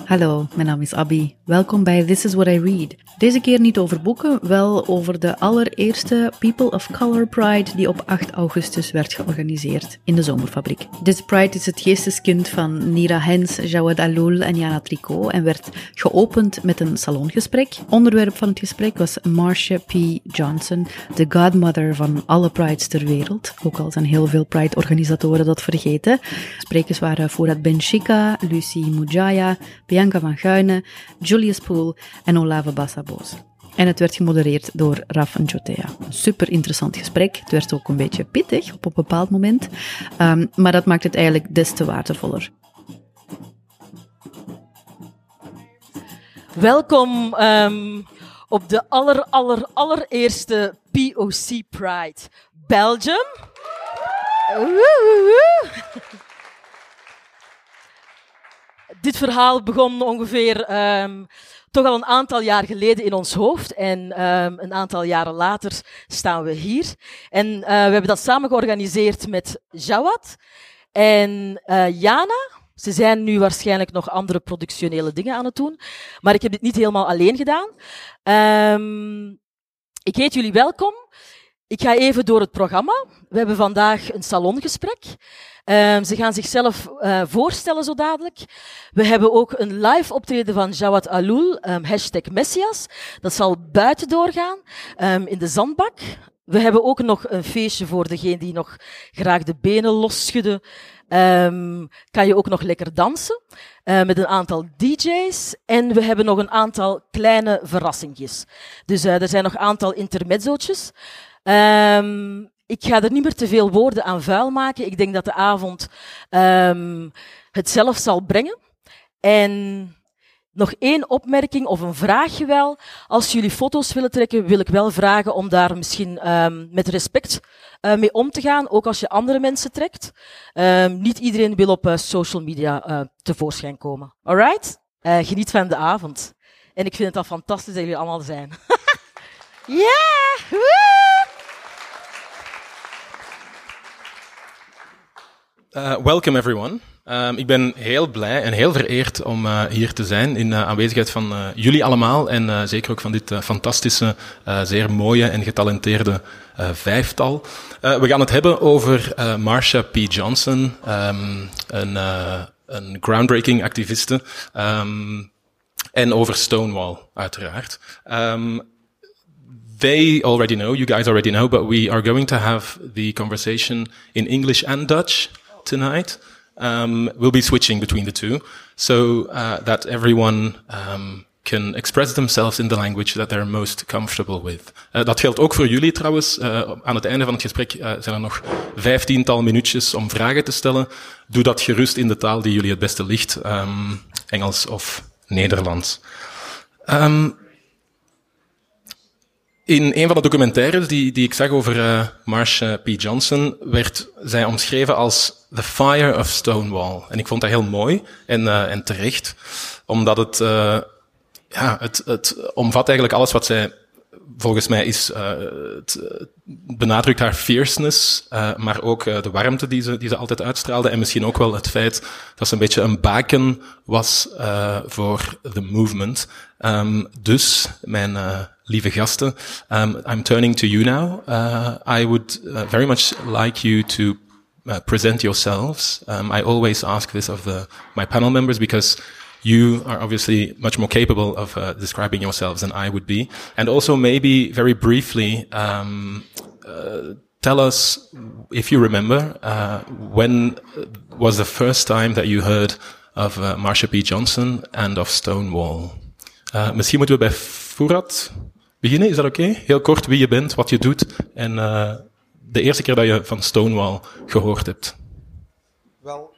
Hallo, mijn naam is Abby. Welkom bij This is What I Read. Deze keer niet over boeken, wel over de allereerste People of Color Pride die op 8 augustus werd georganiseerd in de Zomerfabriek. Deze Pride is het geesteskind van Nira Hens, Jawad Alloul en Jana Tricot en werd geopend met een salongesprek. Onderwerp van het gesprek was Marsha P. Johnson, de godmother van alle prides ter wereld. Ook al zijn heel veel Pride-organisatoren dat vergeten. Sprekers waren Fouad Benchika, Lucie Mujaya, Bianca van Guyne, Julius Poole en Olave Bassaboos. En het werd gemodereerd door Raf Njotea. Een super interessant gesprek. Het werd ook een beetje pittig op een bepaald moment. Maar dat maakt het eigenlijk des te waardevoller. Welkom op de allereerste POC Pride Belgium. Dit verhaal begon ongeveer toch al een aantal jaar geleden in ons hoofd. En een aantal jaren later staan we hier. En we hebben dat samen georganiseerd met Jawad en Jana. Ze zijn nu waarschijnlijk nog andere productionele dingen aan het doen. Maar ik heb dit niet helemaal alleen gedaan. Ik heet jullie welkom. Ik ga even door het programma. We hebben vandaag een salongesprek. Ze gaan zichzelf voorstellen zo dadelijk. We hebben ook een live optreden van Jawad Alloul, #Messias. Dat zal buiten doorgaan, in de zandbak. We hebben ook nog een feestje voor degene die nog graag de benen losschudden. Kan je ook nog lekker dansen met een aantal DJ's. En we hebben nog een aantal kleine verrassingjes. Dus er zijn nog een aantal intermezzootjes. Ik ga er niet meer te veel woorden aan vuil maken. Ik denk dat de avond het zelf zal brengen. En nog één opmerking of een vraagje wel. Als jullie foto's willen trekken, wil ik wel vragen om daar misschien met respect mee om te gaan. Ook als je andere mensen trekt. Niet iedereen wil op social media tevoorschijn komen. Alright? Geniet van de avond. En ik vind het al fantastisch dat jullie allemaal zijn. Yeah! Welcome everyone. Ik ben heel blij en heel vereerd om hier te zijn in aanwezigheid van jullie allemaal en zeker ook van dit fantastische, zeer mooie en getalenteerde vijftal. We gaan het hebben over Marsha P. Johnson, een groundbreaking activiste, en over Stonewall uiteraard. They already know, you guys already know, but we are going to have the conversation in English and Dutch tonight. We'll be switching between the two, so that everyone can express themselves in the language that they're most comfortable with. Dat geldt ook voor jullie trouwens. Aan het einde van het gesprek zijn er nog 15-tal minuutjes om vragen te stellen. Doe dat gerust in de taal die jullie het beste ligt, Engels of Nederlands. In een van de documentaires die ik zag over Marsha P. Johnson werd zij omschreven als the fire of Stonewall. En ik vond dat heel mooi en terecht, omdat het omvat eigenlijk alles wat zij volgens mij is. Het benadrukt haar fierceness, maar ook de warmte die ze altijd uitstraalde en misschien ook wel het feit dat ze een beetje een baken was voor the movement. Dus mijn lieve gasten, I'm turning to you now. I would very much like you to present yourselves. I always ask this of my panel members because you are obviously much more capable of describing yourselves than I would be. And also maybe very briefly, tell us, if you remember, when was the first time that you heard of Marsha P. Johnson and of Stonewall? Misschien moeten we bij Fouad beginnen, is dat oké? Heel kort wie je bent, wat je doet en de eerste keer dat je van Stonewall gehoord hebt. Wel,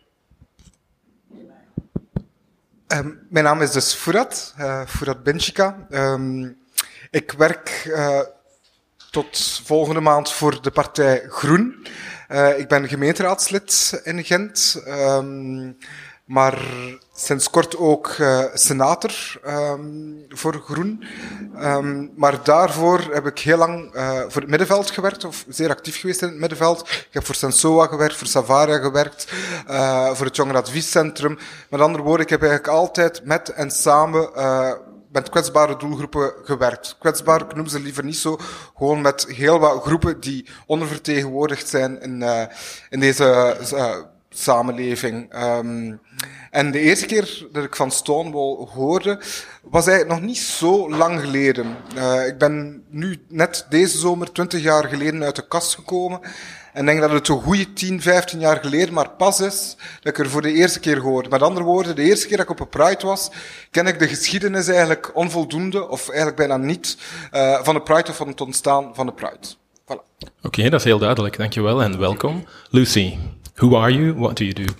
mijn naam is dus Fouad Benchika. Ik werk tot volgende maand voor de partij Groen. Ik ben gemeenteraadslid in Gent. maar sinds kort ook senator voor Groen. Maar daarvoor heb ik heel lang voor het middenveld gewerkt, of zeer actief geweest in het middenveld. Ik heb voor Sensoa gewerkt, voor Savaria gewerkt, voor het Jongerenadviescentrum. Met andere woorden, ik heb eigenlijk altijd met en samen met kwetsbare doelgroepen gewerkt. Kwetsbaar, ik noem ze liever niet zo, gewoon met heel wat groepen die ondervertegenwoordigd zijn in deze samenleving. En de eerste keer dat ik van Stonewall hoorde, was eigenlijk nog niet zo lang geleden. Ik ben nu net deze zomer 20 jaar geleden uit de kast gekomen. En denk dat het zo'n goede 10, 15 jaar geleden maar pas is dat ik er voor de eerste keer hoorde. Met andere woorden, de eerste keer dat ik op een Pride was, ken ik de geschiedenis eigenlijk onvoldoende, of eigenlijk bijna niet, van de Pride of van het ontstaan van de Pride. Voilà. Oké, dat is heel duidelijk. Dankjewel en welkom. Lucy, who are you? What do you do?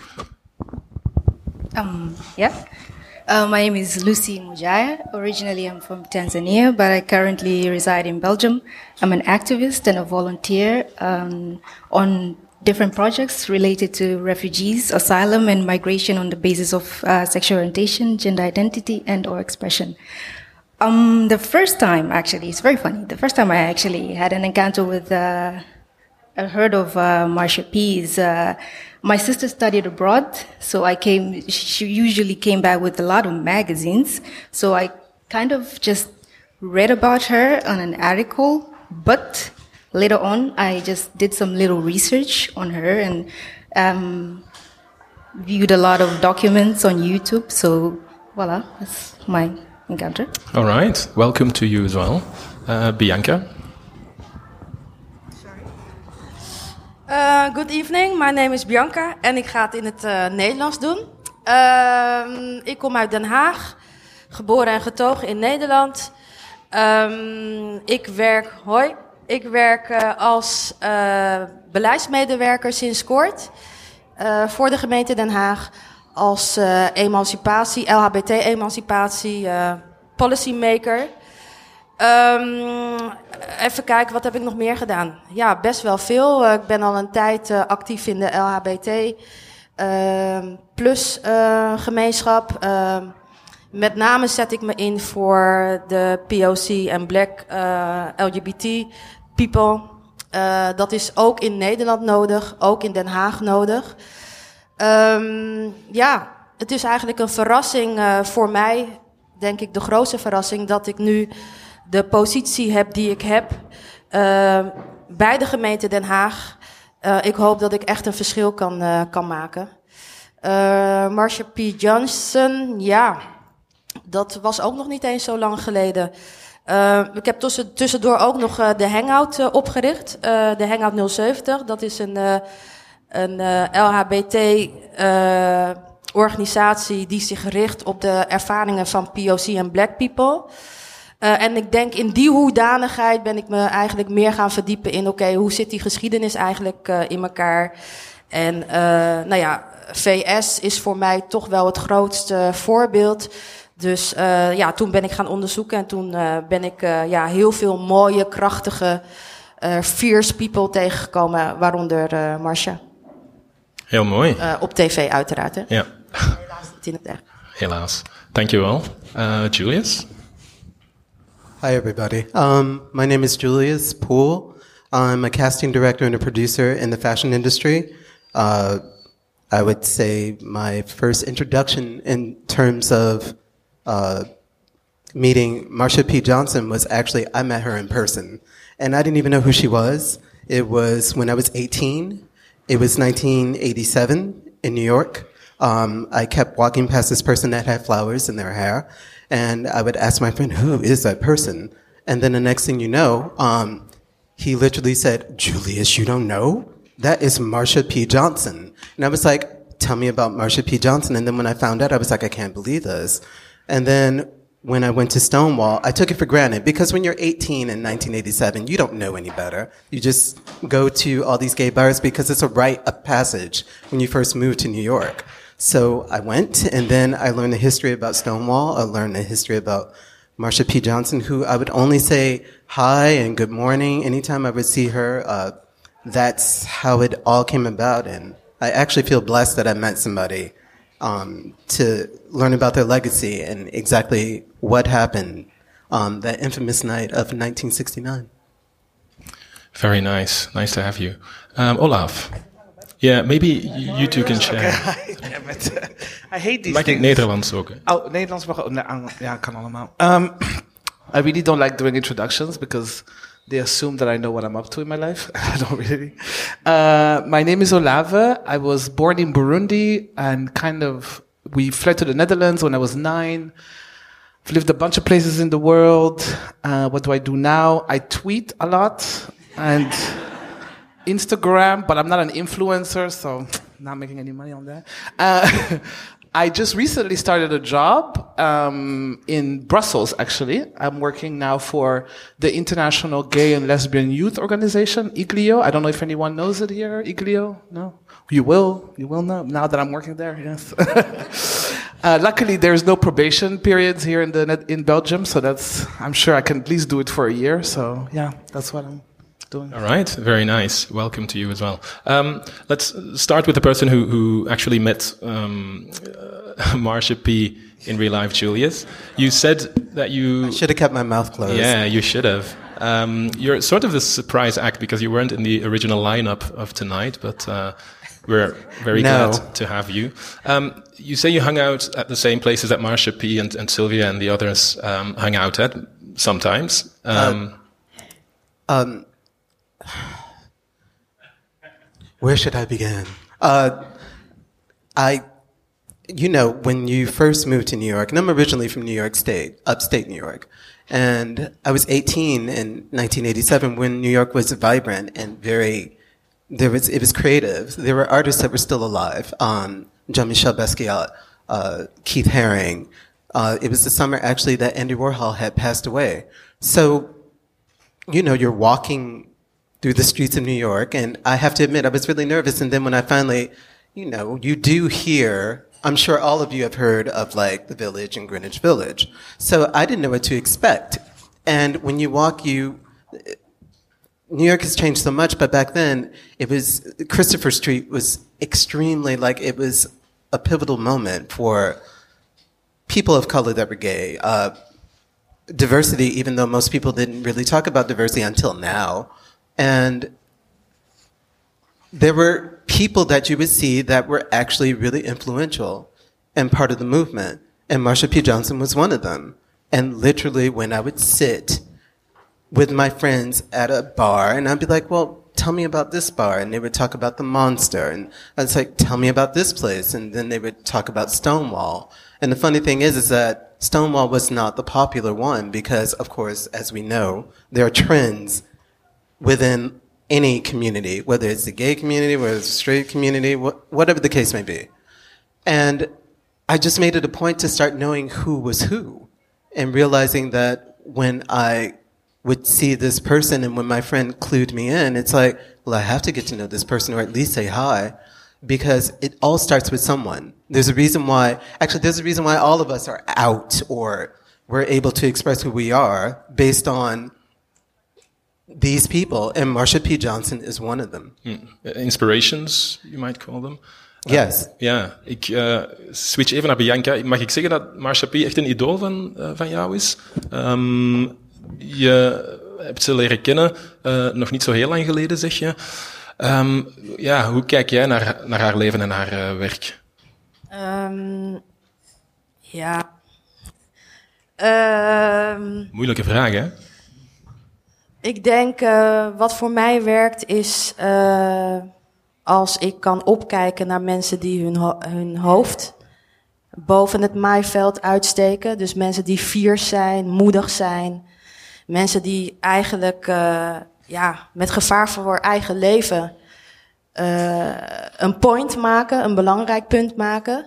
My name is Lucy Mujaya. Originally, I'm from Tanzania, but I currently reside in Belgium. I'm an activist and a volunteer on different projects related to refugees, asylum, and migration on the basis of sexual orientation, gender identity, and/or expression. The first time, actually, it's very funny. The first time I actually had an encounter with, I heard of Marsha P's. My sister studied abroad, so she usually came back with a lot of magazines. So I kind of just read about her on an article, but later on I just did some little research on her and viewed a lot of documents on YouTube. So voila, that's my encounter. All right, welcome to you as well. Bianca? Good evening, my name is Bianca en ik ga het in het Nederlands doen. Ik kom uit Den Haag, geboren en getogen in Nederland. Ik werk als beleidsmedewerker sinds kort voor de gemeente Den Haag. Als emancipatie, LHBT-emancipatie, policymaker. Even kijken, wat heb ik nog meer gedaan? Ja, best wel veel. Ik ben al een tijd actief in de LHBT plus gemeenschap. Met name zet ik me in voor de POC en Black LGBT people. Dat is ook in Nederland nodig, ook in Den Haag nodig. Ja, het is eigenlijk een verrassing voor mij, denk ik de grootste verrassing, dat ik nu de positie heb die ik heb bij de gemeente Den Haag. Ik hoop dat ik echt een verschil kan maken. Marsha P. Johnson, ja, dat was ook nog niet eens zo lang geleden. Ik heb tussendoor ook nog de Hangout opgericht. De Hangout 070, dat is een LHBT organisatie die zich richt op de ervaringen van POC en Black people. En ik denk in die hoedanigheid ben ik me eigenlijk meer gaan verdiepen in hoe zit die geschiedenis eigenlijk in elkaar. En nou ja, VS is voor mij toch wel het grootste voorbeeld. Dus ja, toen ben ik gaan onderzoeken en toen ben ik ja, heel veel mooie, krachtige, fierce people tegengekomen, waaronder Marsha. Heel mooi. Op tv uiteraard, hè? Ja. Helaas niet in het echt. Helaas. Dankjewel. Julius? Hi, everybody. My name is Julius Poole. I'm a casting director and a producer in the fashion industry. I would say my first introduction in terms of meeting Marsha P. Johnson was actually, I met her in person. And I didn't even know who she was. It was when I was 18. It was 1987 in New York. I kept walking past this person that had flowers in their hair. And I would ask my friend, who is that person? And then the next thing you know, he literally said, Julius, you don't know? That is Marsha P. Johnson. And I was like, tell me about Marsha P. Johnson. And then when I found out, I was like, I can't believe this. And then when I went to Stonewall, I took it for granted because when you're 18 in 1987, you don't know any better. You just go to all these gay bars because it's a rite of passage when you first move to New York. So I went, and then I learned the history about Stonewall. I learned the history about Marsha P. Johnson, who I would only say hi and good morning anytime I would see her. That's how it all came about, and I actually feel blessed that I met somebody to learn about their legacy and exactly what happened that infamous night of 1969. Very nice. Nice to have you. Olaf. Yeah, maybe you two can share. I hate these Mag ik things. Nederlands ook? Oh, Nederlands mag ook. Ja, kan allemaal. I really don't like doing introductions because they assume that I know what I'm up to in my life. I don't really. My name is Olave. I was born in Burundi and we fled to the Netherlands when I was 9. I've lived a bunch of places in the world. What do I do now? I tweet a lot and Instagram, but I'm not an influencer, so not making any money on that. I just recently started a job in Brussels, actually. I'm working now for the International Gay and Lesbian Youth Organization, IGLIO. I don't know if anyone knows it here, IGLIO? No? You will know, now that I'm working there, yes. Luckily, there's no probation periods here in Belgium, so I'm sure I can at least do it for a year. So, yeah, that's what I'm doing. All right, very nice. Welcome to you as well. Let's start with the person who actually met Marsha P. in real life, Julius. You said that you... I should have kept my mouth closed. Yeah, you should have. You're sort of a surprise act because you weren't in the original lineup of tonight, but we're very glad to have you. You say you hung out at the same places that Marsha P. and Sylvia and the others hung out at sometimes. Where should I begin? When you first moved to New York, and I'm originally from New York State, upstate New York, and I was 18 in 1987 when New York was vibrant and it was creative. There were artists that were still alive. Jean-Michel Basquiat, Keith Haring. It was the summer actually that Andy Warhol had passed away. So, you're walking through the streets of New York, and I have to admit, I was really nervous. And then when I finally, you do hear, I'm sure all of you have heard of like the Village and Greenwich Village. So I didn't know what to expect. And when you walk, New York has changed so much, but back then Christopher Street was extremely it was a pivotal moment for people of color that were gay. Diversity, even though most people didn't really talk about diversity until now. And there were people that you would see that were actually really influential and part of the movement. And Marsha P. Johnson was one of them. And literally when I would sit with my friends at a bar and I'd be like, well, tell me about this bar. And they would talk about the Monster. And I was like, tell me about this place. And then they would talk about Stonewall. And the funny thing is that Stonewall was not the popular one because, of course, as we know, there are trends within any community, whether it's the gay community, whether it's the straight community, whatever the case may be. And I just made it a point to start knowing who was who and realizing that when I would see this person and when my friend clued me in, it's like, well, I have to get to know this person or at least say hi because it all starts with someone. There's a reason why all of us are out or we're able to express who we are based on these people, and Marsha P. Johnson is one of them. Inspirations, you might call them. Yes. Ja, ik switch even naar Bianca. Mag ik zeggen dat Marsha P. echt een idool van jou is? Je hebt ze leren kennen, nog niet zo heel lang geleden, zeg je. Hoe kijk jij naar haar leven en haar werk? Moeilijke vraag, hè? Ik denk, wat voor mij werkt is als ik kan opkijken naar mensen die hun hoofd boven het maaiveld uitsteken. Dus mensen die fiers zijn, moedig zijn. Mensen die eigenlijk met gevaar voor hun eigen leven een point maken, een belangrijk punt maken.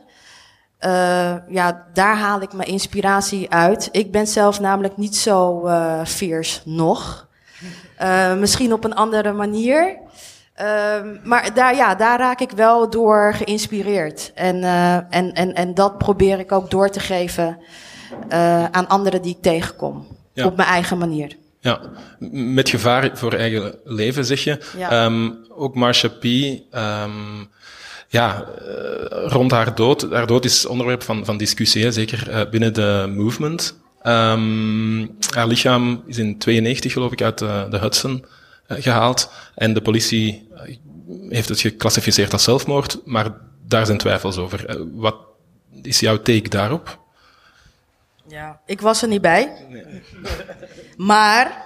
Daar haal ik mijn inspiratie uit. Ik ben zelf namelijk niet zo fierce nog. Misschien op een andere manier. Maar daar raak ik wel door geïnspireerd. En dat probeer ik ook door te geven aan anderen die ik tegenkom. Ja. Op mijn eigen manier. Ja, met gevaar voor eigen leven, zeg je. Ja. Ook Marsha P. rond haar dood. Haar dood is onderwerp van discussie, hè, zeker binnen de movement. Haar lichaam is in 92, geloof ik, uit de Hudson gehaald. En de politie heeft het geclassificeerd als zelfmoord, maar daar zijn twijfels over. Wat is jouw take daarop? Ja, ik was er niet bij. Nee. Maar...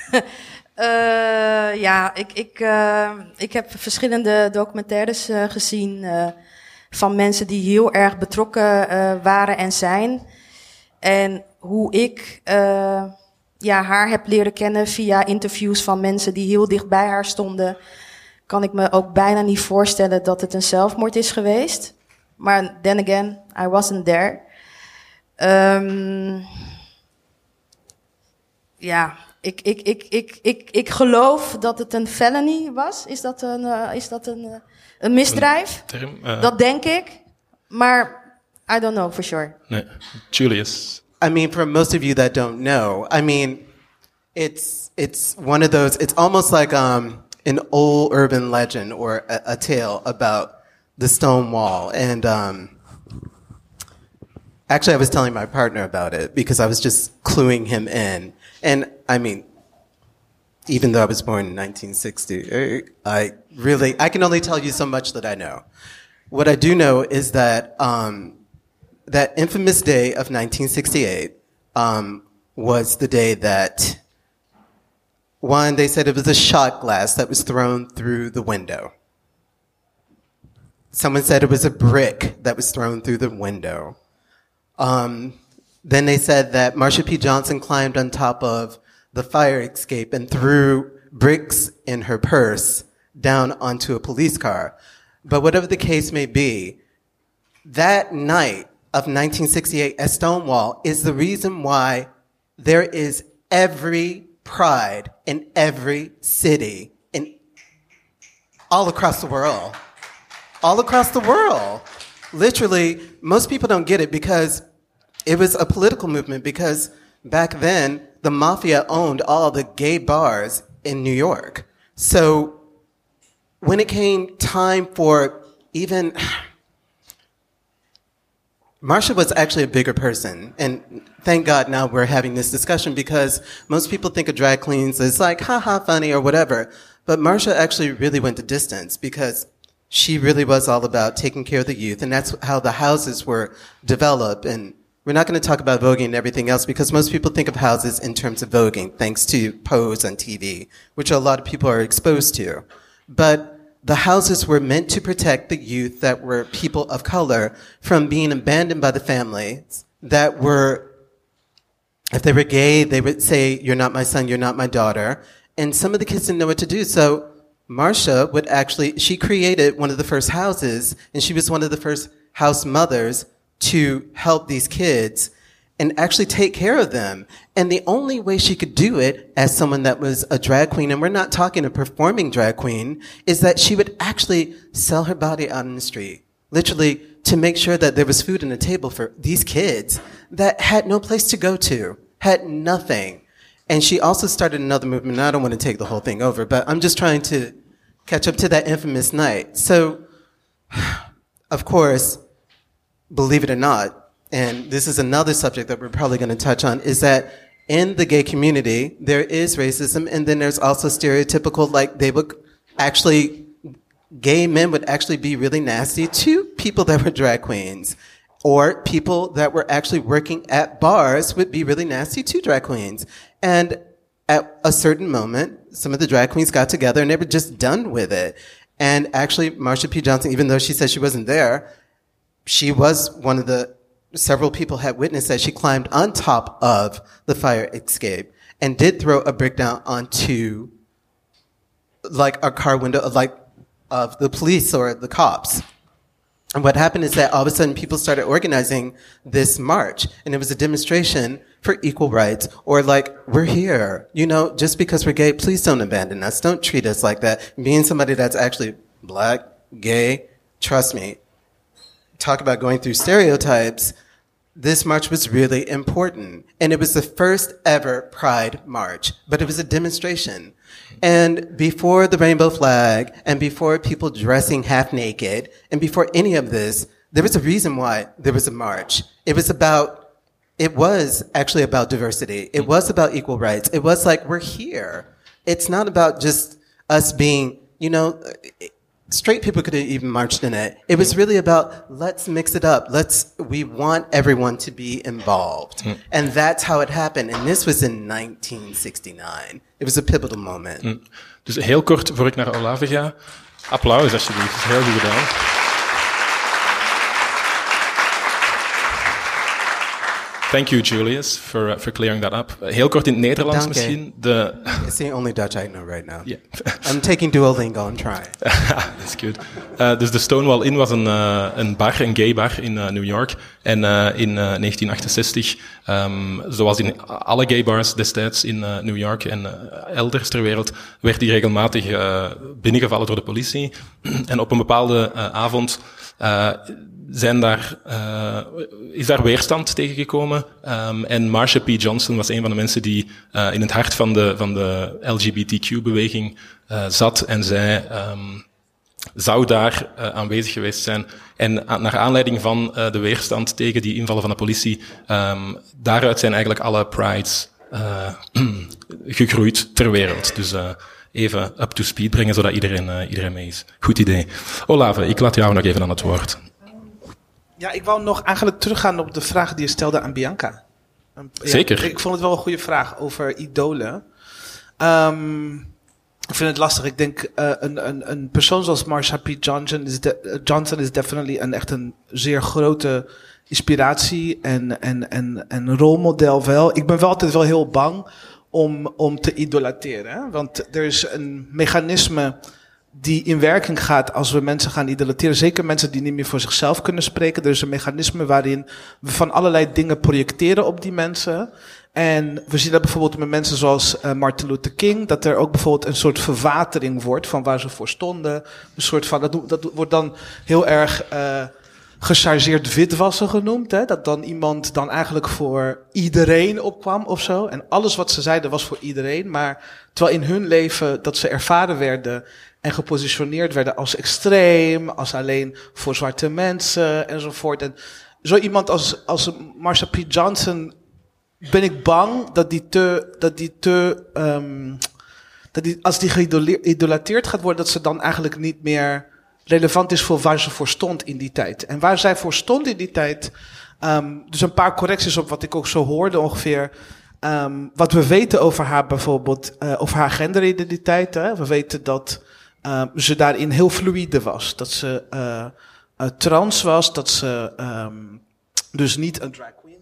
ik heb verschillende documentaires gezien van mensen die heel erg betrokken waren en zijn. En hoe ik haar heb leren kennen via interviews van mensen die heel dicht bij haar stonden, kan ik me ook bijna niet voorstellen dat het een zelfmoord is geweest. Maar then again, I wasn't there. Ik geloof dat het een felony was. Is dat een misdrijf? Term, dat denk ik. Maar I don't know for sure. Nee. Julius. I mean, for most of you that don't know, I mean, it's one of those, it's almost like an old urban legend or a tale about the stone wall. And actually, I was telling my partner about it because I was just cluing him in. And I mean, even though I was born in 1960, I can only tell you so much that I know. What I do know is that that infamous day of 1968 was the day that, one, they said it was a shot glass that was thrown through the window. Someone said it was a brick that was thrown through the window. Then they said that Marsha P. Johnson climbed on top of the fire escape and threw bricks in her purse down onto a police car. But whatever the case may be, that night of 1968 at Stonewall is the reason why there is every pride in every city all across the world. All across the world. Literally, most people don't get it because it was a political movement, because back then, the mafia owned all the gay bars in New York. So when it came time for even... Marsha was actually a bigger person, and thank God now we're having this discussion, because most people think of drag queens as like, haha, funny or whatever. But Marsha actually really went the distance, because she really was all about taking care of the youth, and that's how the houses were developed. And we're not going to talk about voguing and everything else, because most people think of houses in terms of voguing, thanks to Pose on TV, which a lot of people are exposed to. But the houses were meant to protect the youth that were people of color from being abandoned by the families that were, if they were gay, they would say, "You're not my son, you're not my daughter." And some of the kids didn't know what to do. So Marsha would actually, she created one of the first houses, and she was one of the first house mothers to help these kids and actually take care of them. And the only way she could do it as someone that was a drag queen, and we're not talking a performing drag queen, is that she would actually sell her body out in the street, literally to make sure that there was food on the table for these kids that had no place to go to, had nothing. And she also started another movement, and I don't want to take the whole thing over, but I'm just trying to catch up to that infamous night. So, of course, believe it or not, and this is another subject that we're probably going to touch on, is that in the gay community, there is racism, and then there's also stereotypical, like they would actually, gay men would actually be really nasty to people that were drag queens, or people that were actually working at bars would be really nasty to drag queens. And at a certain moment, some of the drag queens got together and they were just done with it. And actually, Marsha P. Johnson, even though she said she wasn't there, she was one of the several people had witnessed that she climbed on top of the fire escape and did throw a brick down onto like a car window of the police or the cops. And what happened is that all of a sudden people started organizing this march, and it was a demonstration for equal rights, or like, we're here, you know, just because we're gay, please don't abandon us. Don't treat us like that. Being somebody that's actually black, gay, trust me, talk about going through stereotypes. this march was really important. And it was the first ever Pride March, but it was a demonstration. And before the rainbow flag, and before people dressing half naked, and before any of this, there was a reason why there was a march. It was actually about diversity. It was about equal rights. It was like, we're here. It's not about just us being, straight people could have even marched in it. It was really about, let's mix it up. We want everyone to be involved. And that's how it happened. And this was in 1969. It was a pivotal moment. Dus heel kort, voor ik naar Olave ga. Applaus alsjeblieft, dat is heel goed gedaan. Thank you, Julius, for clearing that up. Heel kort in het Nederlands misschien. It's the only Dutch I know right now. Yeah. I'm taking Duolingo, I'm trying. That's good. Dus de Stonewall Inn was een bar, een gay bar in New York. En in 1968, zoals in alle gay bars destijds in New York en elders ter wereld, werd die regelmatig binnengevallen door de politie. En op een bepaalde avond is daar weerstand tegengekomen. En Marsha P. Johnson was een van de mensen die in het hart van de LGBTQ-beweging zat. En zij zou daar aanwezig geweest zijn. En naar aanleiding van de weerstand tegen die invallen van de politie, daaruit zijn eigenlijk alle prides gegroeid ter wereld. Dus even up to speed brengen, zodat iedereen mee is. Goed idee. Olave, ik laat jou nog even aan het woord. Ja, ik wou nog eigenlijk teruggaan op de vraag die je stelde aan Bianca. Zeker. Ik vond het wel een goede vraag over idolen. Ik vind het lastig. Ik denk, een persoon zoals Marsha P. Johnson is definitely echt een zeer grote inspiratie en rolmodel wel. Ik ben wel altijd wel heel bang om te idolateren. Hè? Want er is een mechanisme die in werking gaat als we mensen gaan idolateren. Zeker mensen die niet meer voor zichzelf kunnen spreken. Er is een mechanisme waarin we van allerlei dingen projecteren op die mensen. En we zien dat bijvoorbeeld met mensen zoals Martin Luther King, dat er ook bijvoorbeeld een soort verwatering wordt van waar ze voor stonden. Een soort van, dat wordt dan heel erg gechargeerd witwassen genoemd. Hè? Dat dan iemand dan eigenlijk voor iedereen opkwam of zo. En alles wat ze zeiden was voor iedereen. Maar terwijl in hun leven dat ze ervaren werden en gepositioneerd werden als extreem, als alleen voor zwarte mensen enzovoort. En zo iemand als Marsha P. Johnson ben ik bang als die geïdolateerd gaat worden, dat ze dan eigenlijk niet meer relevant is voor waar ze voor stond in die tijd. En waar zij voor stond in die tijd, dus een paar correcties op wat ik ook zo hoorde ongeveer. Wat we weten over haar bijvoorbeeld, over haar genderidentiteit. Hè? We weten dat ze daarin heel fluïde was. Dat ze trans was, dat ze dus niet een drag queen.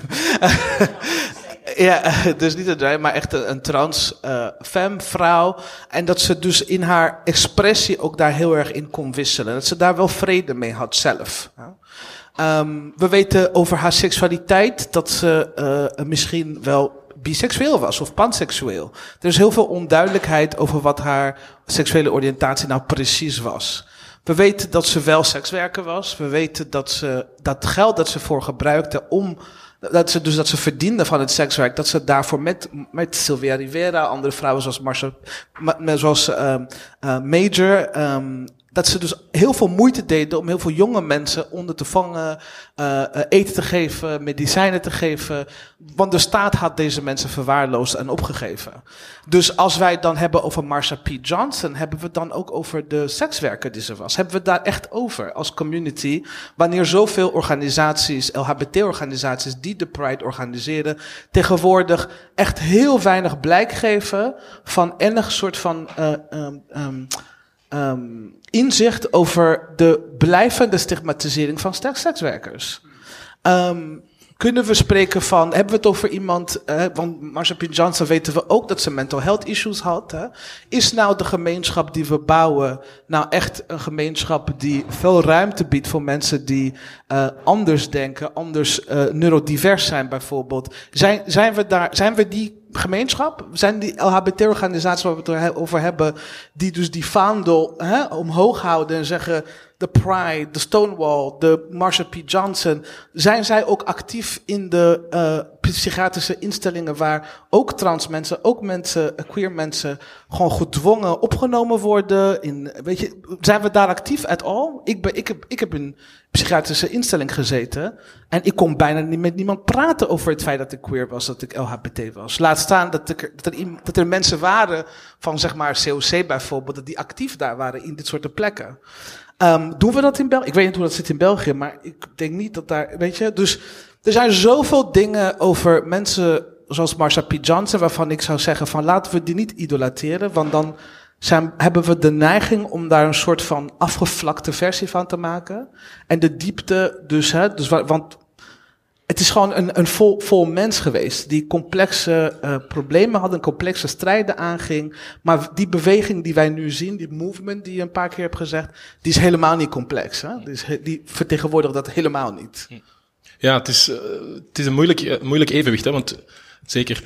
Ja, dus niet een drag, maar echt een trans femme, vrouw. En dat ze dus in haar expressie ook daar heel erg in kon wisselen. Dat ze daar wel vrede mee had zelf. We weten over haar seksualiteit dat ze misschien wel biseksueel was of panseksueel. Er is heel veel onduidelijkheid over wat haar seksuele oriëntatie nou precies was. We weten dat ze wel sekswerker was. We weten dat ze dat geld dat ze voor gebruikte dat ze verdiende van het sekswerk, dat ze daarvoor met Sylvia Rivera, andere vrouwen zoals Major, dat ze dus heel veel moeite deden om heel veel jonge mensen onder te vangen, eten te geven, medicijnen te geven. Want de staat had deze mensen verwaarloosd en opgegeven. Dus als wij het dan hebben over Marsha P. Johnson, hebben we het dan ook over de sekswerker die ze was. Hebben we het daar echt over als community, wanneer zoveel organisaties, LHBT-organisaties die de Pride organiseren, tegenwoordig echt heel weinig blijk geven van enig soort van inzicht over de blijvende stigmatisering van sekswerkers. Kunnen we spreken van, hebben we het over iemand, want Marsha P. Johnson weten we ook dat ze mental health issues had. Hè? Is nou de gemeenschap die we bouwen nou echt een gemeenschap die veel ruimte biedt voor mensen die anders denken, anders neurodivers zijn bijvoorbeeld? Zijn we die gemeenschap? Zijn die LHBT-organisaties waar we het over hebben, die dus die vaandel omhoog houden en zeggen, de Pride, de Stonewall, de Marsha P. Johnson, zijn zij ook actief in de psychiatrische instellingen waar ook trans mensen, ook mensen, queer mensen, gewoon gedwongen opgenomen worden? Zijn we daar actief at all? Ik heb in een psychiatrische instelling gezeten en ik kon bijna niet met niemand praten over het feit dat ik queer was, dat ik LHBT was. Laat staan dat er mensen waren van zeg maar COC bijvoorbeeld, die actief daar waren in dit soort plekken. Doen we dat in België? Ik weet niet hoe dat zit in België, maar ik denk niet dat daar, weet je. Dus er zijn zoveel dingen over mensen zoals Marsha P. Johnson, waarvan ik zou zeggen van laten we die niet idolateren, want dan hebben we de neiging om daar een soort van afgevlakte versie van te maken. En de diepte want het is gewoon een vol mens geweest die complexe problemen had, complexe strijden aanging. Maar die beweging die wij nu zien, die movement die je een paar keer hebt gezegd, die is helemaal niet complex. Hè? Die vertegenwoordigt dat helemaal niet. Ja, het is een moeilijk evenwicht, hè, want zeker.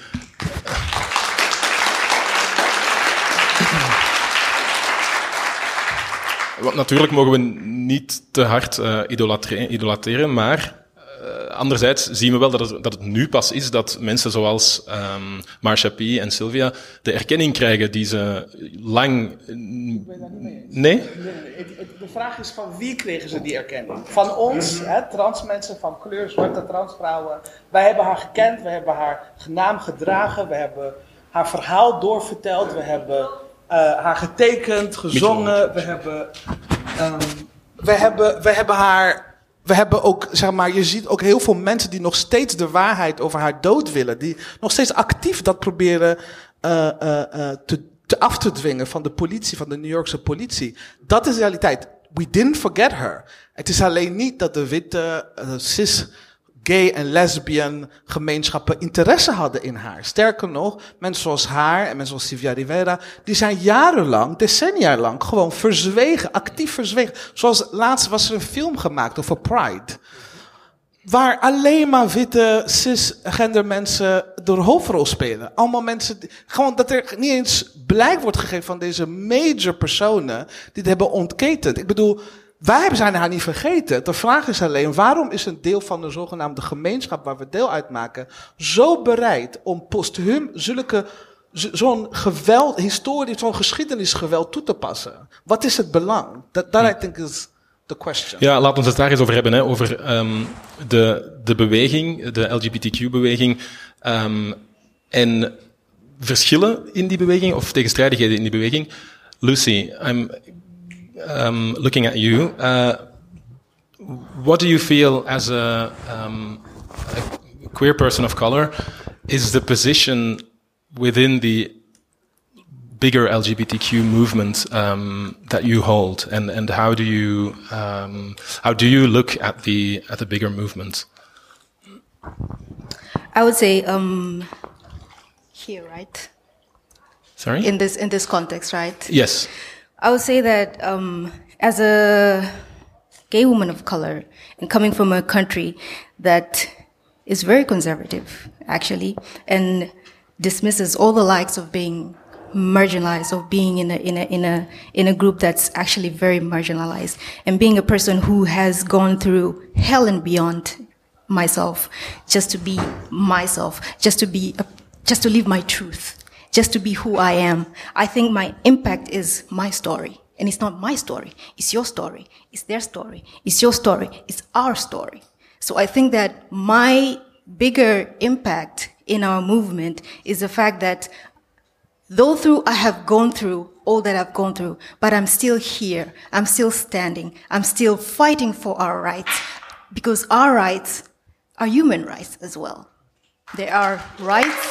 Want natuurlijk mogen we niet te hard idolateren, maar anderzijds zien we wel dat het nu pas is dat mensen zoals Marsha P. en Sylvia de erkenning krijgen die ze lang... Nee? De vraag is van wie kregen ze die erkenning? Van ons, trans mensen van kleur, zwarte transvrouwen. Wij hebben haar gekend, we hebben haar naam gedragen, we hebben haar verhaal doorverteld, we hebben haar getekend, gezongen, we hebben haar... We hebben ook, zeg maar, je ziet ook heel veel mensen die nog steeds de waarheid over haar dood willen. Die nog steeds actief dat proberen af te dwingen van de politie, van de New Yorkse politie. Dat is de realiteit. We didn't forget her. Het is alleen niet dat de witte, cis, gay en lesbian gemeenschappen interesse hadden in haar. Sterker nog, mensen zoals haar en mensen zoals Sylvia Rivera, die zijn jarenlang, decennia lang, gewoon verzwegen, actief verzwegen. Zoals laatst was er een film gemaakt over Pride, waar alleen maar witte, cisgender mensen de hoofdrol spelen. Allemaal mensen, gewoon dat er niet eens blijk wordt gegeven van deze major personen die het hebben ontketend. Ik bedoel, wij zijn haar niet vergeten. De vraag is alleen, waarom is een deel van de zogenaamde gemeenschap waar we deel uitmaken zo bereid om postuum zo'n geweld, historisch, zo'n geschiedenisgeweld toe te passen? Wat is het belang? Dat I think is the question. Ja, laten we het daar eens over hebben, hè, over de beweging, de LGBTQ-beweging, en verschillen in die beweging, of tegenstrijdigheden in die beweging. Lucy, I'm looking at you. What do you feel as a queer person of color is the position within the bigger LGBTQ movement that you hold, and how do you look at the bigger movement? I would say here, right? Sorry? In this context, right? Yes. I would say that as a gay woman of color and coming from a country that is very conservative, actually, and dismisses all the likes of being marginalized, of being in a group that's actually very marginalized, and being a person who has gone through hell and beyond myself, just to be myself, just to live my truth. Just to be who I am. I think my impact is my story. And it's not my story. It's your story. It's their story. It's your story. It's our story. So I think that my bigger impact in our movement is the fact that though I have gone through all that I've gone through, but I'm still here. I'm still standing. I'm still fighting for our rights. Because our rights are human rights as well. They are rights.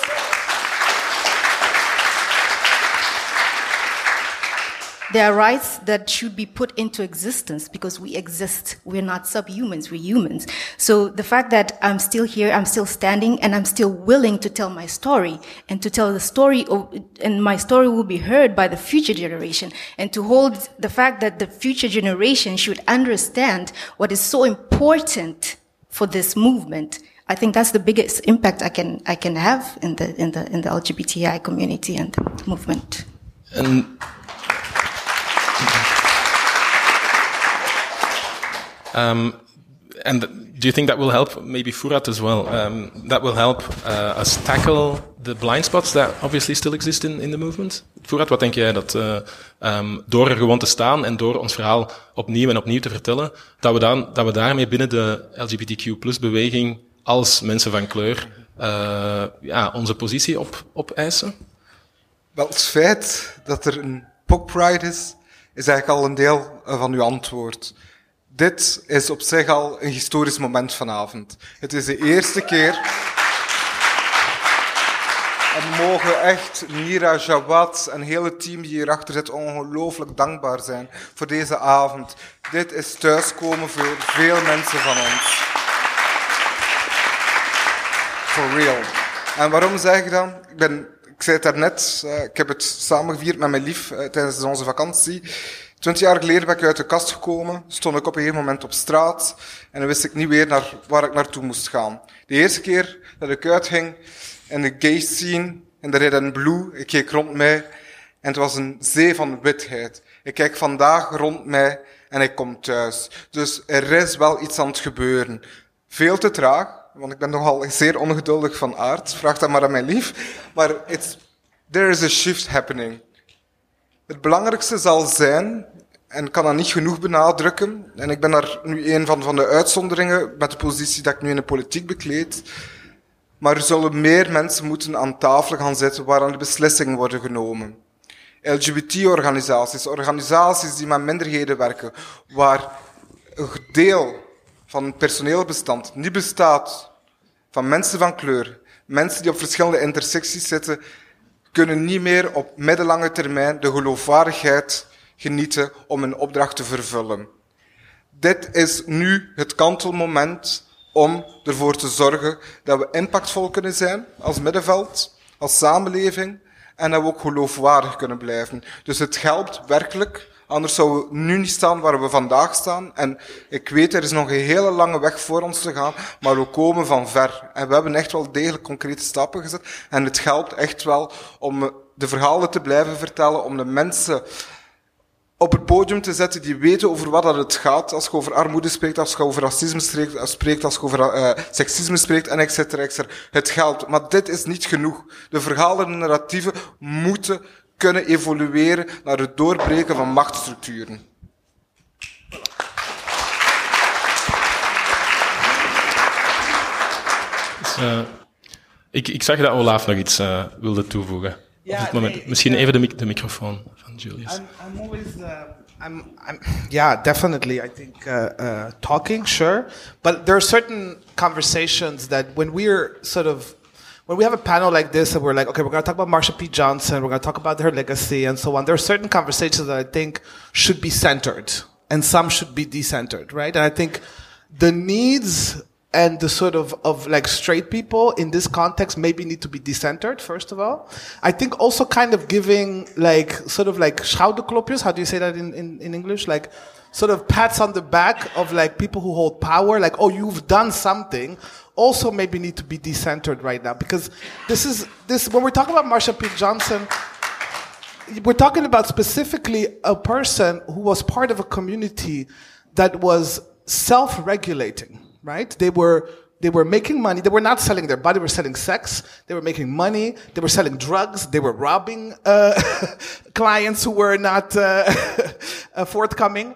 There are rights that should be put into existence because we exist. We're not subhumans, we're humans. So the fact that I'm still here, I'm still standing, and I'm still willing to tell my story, and to tell the story, and my story will be heard by the future generation, and to hold the fact that the future generation should understand what is so important for this movement. I think that's the biggest impact I can have in the LGBTI community and the movement. And do you think that will help, maybe Fouad as well, that will help us tackle the blind spots that obviously still exist in the movement? Fouad, wat denk jij dat door er gewoon te staan en door ons verhaal opnieuw en opnieuw te vertellen, dat we daarmee binnen de LGBTQ+-beweging als mensen van kleur onze positie opeisen? Wel, het feit dat er een POC Pride is eigenlijk al een deel van uw antwoord. Dit is op zich al een historisch moment vanavond. Het is de eerste keer. En we mogen echt Mira, Jawad en het hele team die hierachter zit ongelooflijk dankbaar zijn voor deze avond. Dit is thuiskomen voor veel mensen van ons. For real. En waarom zeg ik dan? Ik zei het daarnet, ik heb het samen gevierd met mijn lief tijdens onze vakantie. 20 jaar geleden ben ik uit de kast gekomen, stond ik op een gegeven moment op straat en dan wist ik niet meer waar ik naartoe moest gaan. De eerste keer dat ik uitging in de gay scene, in de Red and Blue, ik keek rond mij en het was een zee van witheid. Ik kijk vandaag rond mij en ik kom thuis. Dus er is wel iets aan het gebeuren. Veel te traag, want ik ben nogal zeer ongeduldig van aard. Vraag dat maar aan mijn lief. Maar there is a shift happening. Het belangrijkste zal zijn, en ik kan dat niet genoeg benadrukken, en ik ben daar nu een van de uitzonderingen met de positie dat ik nu in de politiek bekleed, maar er zullen meer mensen moeten aan tafel gaan zitten waaraan de beslissingen worden genomen. LGBT-organisaties, organisaties die met minderheden werken, waar een deel van het personeelbestand niet bestaat van mensen van kleur, mensen die op verschillende intersecties zitten, kunnen niet meer op middellange termijn de geloofwaardigheid genieten om een opdracht te vervullen. Dit is nu het kantelmoment om ervoor te zorgen dat we impactvol kunnen zijn als middenveld, als samenleving, en dat we ook geloofwaardig kunnen blijven. Dus het helpt werkelijk, anders zouden we nu niet staan waar we vandaag staan. En ik weet, er is nog een hele lange weg voor ons te gaan, maar we komen van ver. En we hebben echt wel degelijk concrete stappen gezet. En het helpt echt wel om de verhalen te blijven vertellen, om de mensen op het podium te zetten die weten over wat dat het gaat, als je over armoede spreekt, als je over racisme spreekt, als je over seksisme spreekt, en et cetera. Het helpt. Maar dit is niet genoeg. De verhalen en narratieven moeten kunnen evolueren naar het doorbreken van machtsstructuren. Ik zag dat Olaf nog iets wilde toevoegen. Op dit moment. Misschien even de microfoon van Julius. I'm always, yeah, definitely. I think talking, sure, but there are certain conversations that when we have a panel like this and we're like, okay, we're going to talk about Marsha P. Johnson, we're going to talk about her legacy and so on. There are certain conversations that I think should be centered and some should be decentered, right? And I think the needs and the sort of like straight people in this context maybe need to be decentered, first of all. I think also kind of giving like, sort of like schouderklopjes, how do you say that in English? Like sort of pats on the back of like people who hold power, like, oh, you've done something, also maybe need to be decentered right now. Because when we're talking about Marsha P. Johnson, we're talking about specifically a person who was part of a community that was self-regulating. Right? They were making money. They were not selling their body. They were selling sex. They were making money. They were selling drugs. They were robbing clients who were not forthcoming.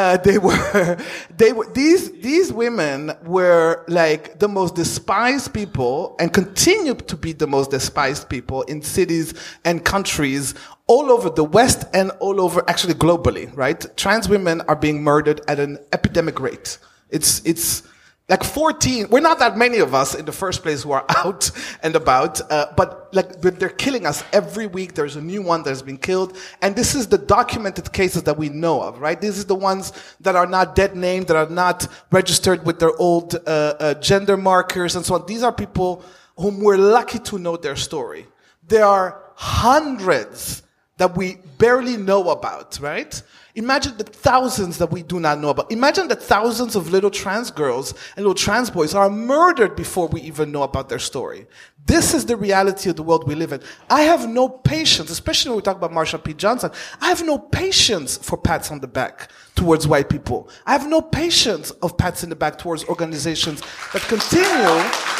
These women were like the most despised people and continue to be the most despised people in cities and countries all over the West and all over, actually globally, right? Trans women are being murdered at an epidemic rate. It's like 14, we're not that many of us in the first place who are out and about, but they're killing us every week. There's a new one that's been killed. And this is the documented cases that we know of, right? These are the ones that are not dead named, that are not registered with their old gender markers and so on. These are people whom we're lucky to know their story. There are hundreds that we barely know about, right? Imagine the thousands that we do not know about. Imagine that thousands of little trans girls and little trans boys are murdered before we even know about their story. This is the reality of the world we live in. I have no patience, especially when we talk about Marsha P. Johnson. I have no patience for pats on the back towards white people. I have no patience of pats in the back towards organizations that continue,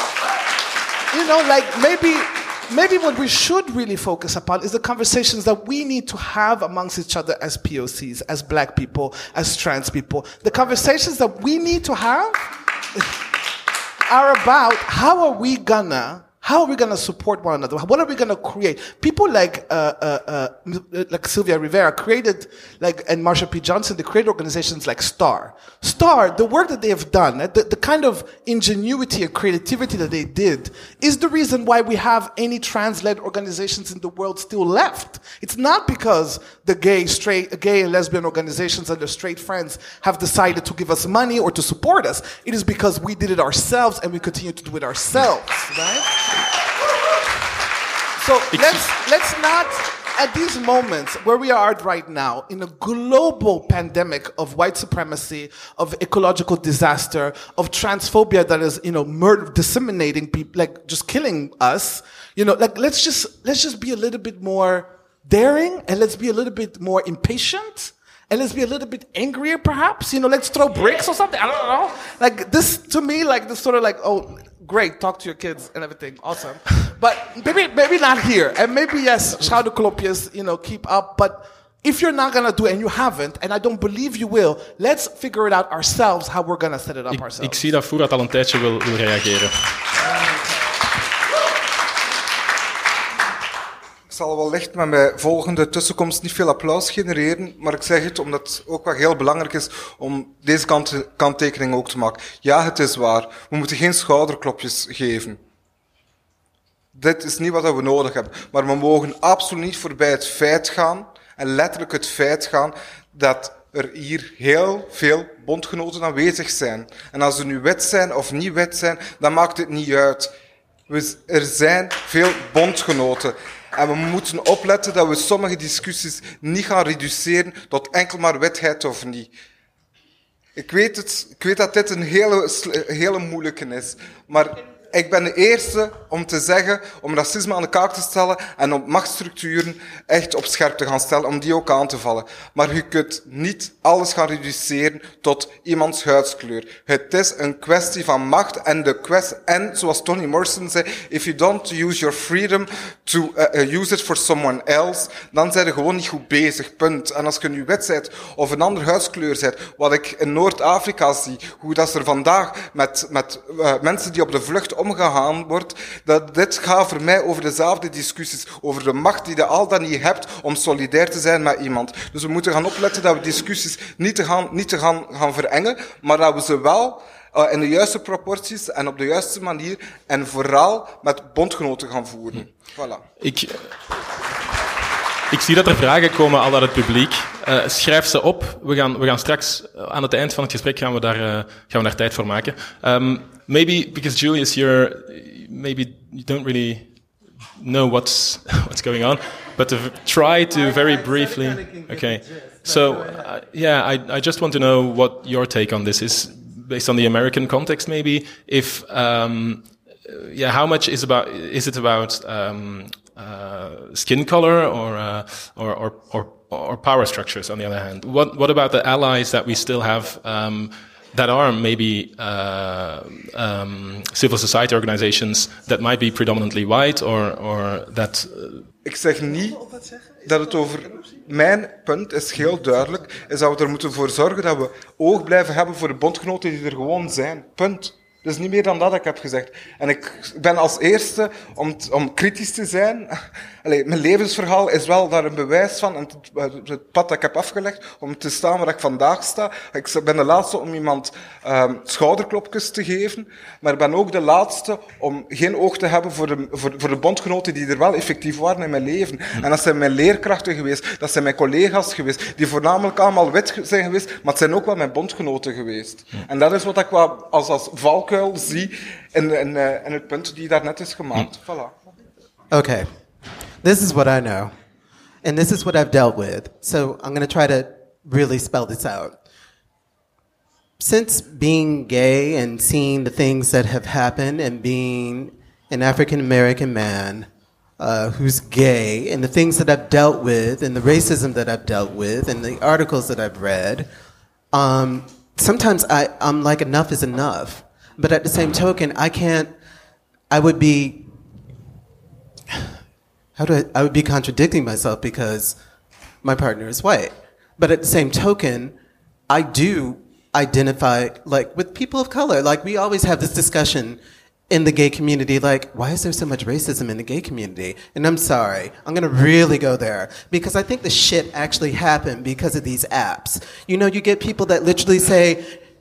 maybe what we should really focus upon is the conversations that we need to have amongst each other as POCs, as black people, as trans people. The conversations that we need to have are about how are we gonna support one another? What are we gonna create? People like Sylvia Rivera created, and Marsha P. Johnson, they created organizations like STAR. STAR, the work that they have done, the kind of ingenuity and creativity that they did, is the reason why we have any trans-led organizations in the world still left. It's not because the gay and lesbian organizations and their straight friends have decided to give us money or to support us. It is because we did it ourselves and we continue to do it ourselves, right? So let's not, at these moments where we are right now, in a global pandemic of white supremacy, of ecological disaster, of transphobia that is, disseminating people, just killing us, let's just be a little bit more daring, and let's be a little bit more impatient, and let's be a little bit angrier, perhaps. Let's throw bricks or something. I don't know. This, to me, this sort of oh, great, talk to your kids and everything, awesome. But maybe not here. And maybe, yes, schouderklopjes, keep up. But if you're not going to do it, and you haven't, and I don't believe you will, let's figure it out ourselves, how we're going to set it up ourselves. Ik zie dat Fouad al een tijdje wil reageren. Ik zal wellicht met mijn volgende tussenkomst niet veel applaus genereren, maar ik zeg het omdat het ook wel heel belangrijk is om deze kanttekening ook te maken. Ja, het is waar. We moeten geen schouderklopjes geven. Dit is niet wat we nodig hebben. Maar we mogen absoluut niet voorbij het feit gaan, en letterlijk het feit gaan, dat er hier heel veel bondgenoten aanwezig zijn. En als ze nu wit zijn of niet wit zijn, dan maakt het niet uit. Er zijn veel bondgenoten. En we moeten opletten dat we sommige discussies niet gaan reduceren tot enkel maar witheid of niet. Ik weet dat dit een hele moeilijke is. Maar ik ben de eerste om te zeggen, om racisme aan de kaak te stellen en om machtsstructuren echt op scherp te gaan stellen, om die ook aan te vallen. Maar je kunt niet alles gaan reduceren tot iemands huidskleur. Het is een kwestie van macht en zoals Toni Morrison zei, if you don't use your freedom to use it for someone else, dan zijn je gewoon niet goed bezig, punt. En als je nu wit bent of een andere huidskleur bent, wat ik in Noord-Afrika zie, hoe dat er vandaag met mensen die op de vlucht omgegaan wordt, dat dit gaat voor mij over dezelfde discussies, over de macht die je al dan niet hebt om solidair te zijn met iemand. Dus we moeten gaan opletten dat we discussies niet te gaan verengen, maar dat we ze wel in de juiste proporties en op de juiste manier en vooral met bondgenoten gaan voeren. Voilà. Ik zie dat er vragen komen al uit het publiek. Schrijf ze op. We gaan straks aan het eind van het gesprek gaan we daar tijd voor maken. Maybe because Julius, you don't really know what's going on, but to try to very briefly. Okay, so I just want to know what your take on this is, based on the American context, maybe. If how much is it about skin color or power structures? On the other hand, what about the allies that we still have? That are maybe civil society organizations that might be predominantly white or that... Ik zeg niet dat het over... Mijn punt is heel duidelijk, is dat we er moeten voor zorgen dat we oog blijven hebben voor de bondgenoten die er gewoon zijn. Punt. Dat is niet meer dan dat ik heb gezegd. En ik ben als eerste om kritisch te zijn. Mijn levensverhaal is wel daar een bewijs van. En het pad dat ik heb afgelegd om te staan waar ik vandaag sta. Ik ben de laatste om iemand schouderklopjes te geven. Maar ik ben ook de laatste om geen oog te hebben voor de bondgenoten die er wel effectief waren in mijn leven. En dat zijn mijn leerkrachten geweest. Dat zijn mijn collega's geweest. Die voornamelijk allemaal wit zijn geweest. Maar het zijn ook wel mijn bondgenoten geweest. En dat is wat ik wel als valkuil zie in het punt die daar net is gemaakt. Voilà. Okay. This is what I know. and this is what I've dealt with. So I'm going to try to really spell this out. Since being gay and seeing the things that have happened and being an African-American man who's gay and the things that I've dealt with and the racism that I've dealt with and the articles that I've read, sometimes I'm like, enough is enough. But at the same token, I would be contradicting myself because my partner is white. But at the same token, I do identify like with people of color. Like we always have this discussion in the gay community, like, why is there so much racism in the gay community? And I'm sorry, I'm gonna really go there because I think the shit actually happened because of these apps. You know, you get people that literally say,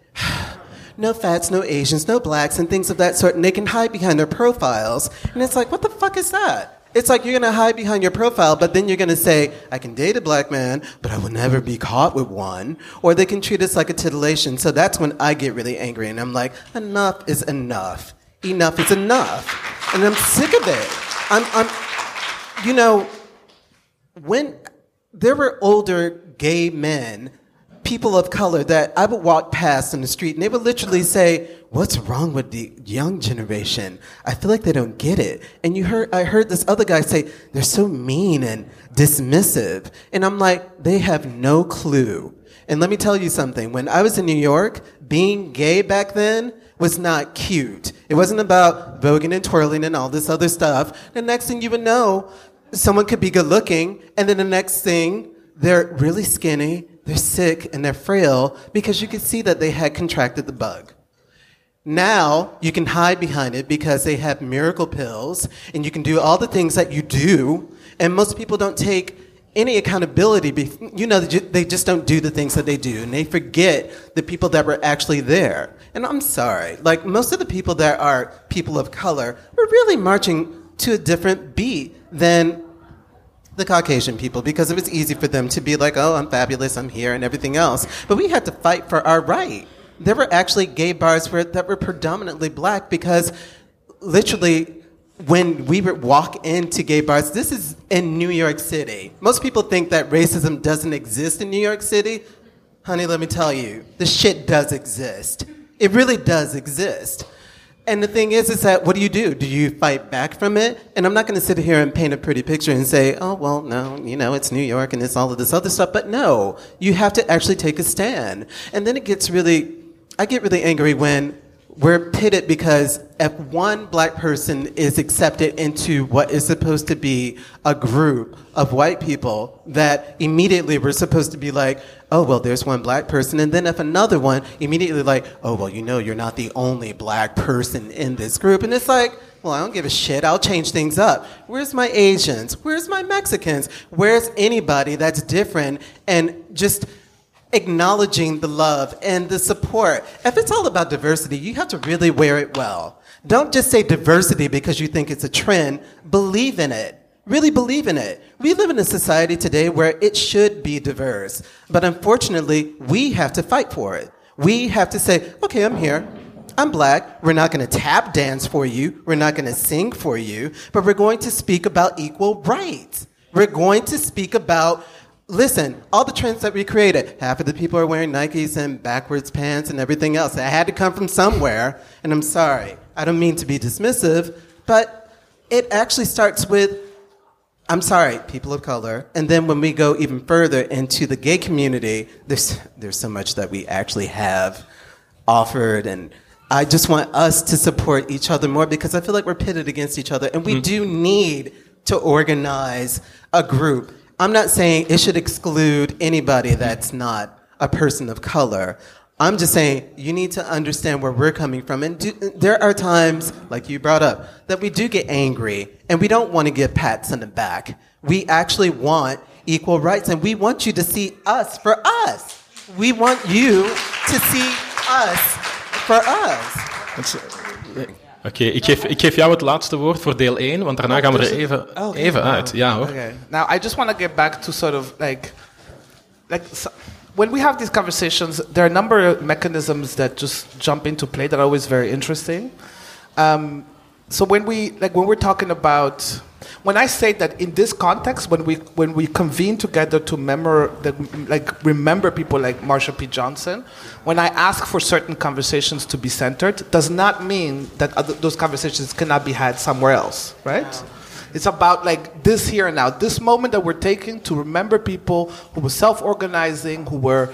no fats, no Asians, no blacks, and things of that sort, and they can hide behind their profiles. And it's like, what the fuck is that? It's like you're going to hide behind your profile, but then you're going to say, I can date a black man, but I will never be caught with one. Or they can treat us like a titillation. So that's when I get really angry, and I'm like, enough is enough. Enough is enough. And I'm sick of it. You know, when there were older gay men, people of color that I would walk past in the street and they would literally say, what's wrong with the young generation? I feel like they don't get it. And I heard this other guy say, they're so mean and dismissive. And I'm like, they have no clue. And let me tell you something. When I was in New York, being gay back then was not cute. It wasn't about voguing and twirling and all this other stuff. The next thing you would know, someone could be good looking, and then the next thing, they're really skinny, they're sick, and they're frail because you could see that they had contracted the bug. Now, you can hide behind it because they have miracle pills, and you can do all the things that you do, and most people don't take any accountability. You know, they just don't do the things that they do, and they forget the people that were actually there. And I'm sorry, like most of the people that are people of color were really marching to a different beat than the Caucasian people, because it was easy for them to be like, oh, I'm fabulous, I'm here, and everything else. But we had to fight for our right. There were actually gay bars that were predominantly black because literally when we would walk into gay bars, this is in New York City. Most people think that racism doesn't exist in New York City. Honey, let me tell you, the shit does exist. It really does exist. And the thing is that what do? Do you fight back from it? And I'm not going to sit here and paint a pretty picture and say, oh, well, no, you know, it's New York and it's all of this other stuff. But no, you have to actually take a stand. And then I get really angry when we're pitted because if one black person is accepted into what is supposed to be a group of white people, that immediately we're supposed to be like, oh, well, there's one black person. And then if another one, immediately like, oh, well, you know, you're not the only black person in this group. And it's like, well, I don't give a shit. I'll change things up. Where's my Asians? Where's my Mexicans? Where's anybody that's different? And just acknowledging the love and the support. If it's all about diversity, you have to really wear it well. Don't just say diversity because you think it's a trend. Believe in it. Really believe in it. We live in a society today where it should be diverse. But unfortunately, we have to fight for it. We have to say, okay, I'm here. I'm black. We're not going to tap dance for you. We're not going to sing for you. But we're going to speak about equal rights. We're going to speak about, listen, all the trends that we created, half of the people are wearing Nikes and backwards pants and everything else. That had to come from somewhere. And I'm sorry. I don't mean to be dismissive, but it actually starts with, I'm sorry, people of color. And then when we go even further into the gay community, there's so much that we actually have offered. And I just want us to support each other more because I feel like we're pitted against each other. And we do need to organize a group. I'm not saying it should exclude anybody that's not a person of color. I'm just saying you need to understand where we're coming from. And there are times, like you brought up, that we do get angry and we don't want to give pats on the back. We actually want equal rights and we want you to see us for us. We want you to see us for us. Oké, ik geef jou het laatste woord voor deel 1, want daarna gaan we er even uit. Ja, hoor. Okay. Now, I just want to get back to sort of when we have these conversations, there are a number of mechanisms that just jump into play that are always very interesting. So when we're talking about When I say that in this context, when we convene together to remember people like Marsha P. Johnson, when I ask for certain conversations to be centered, does not mean that those conversations cannot be had somewhere else, right? It's about like this here and now, this moment that we're taking to remember people who were self-organizing, who were,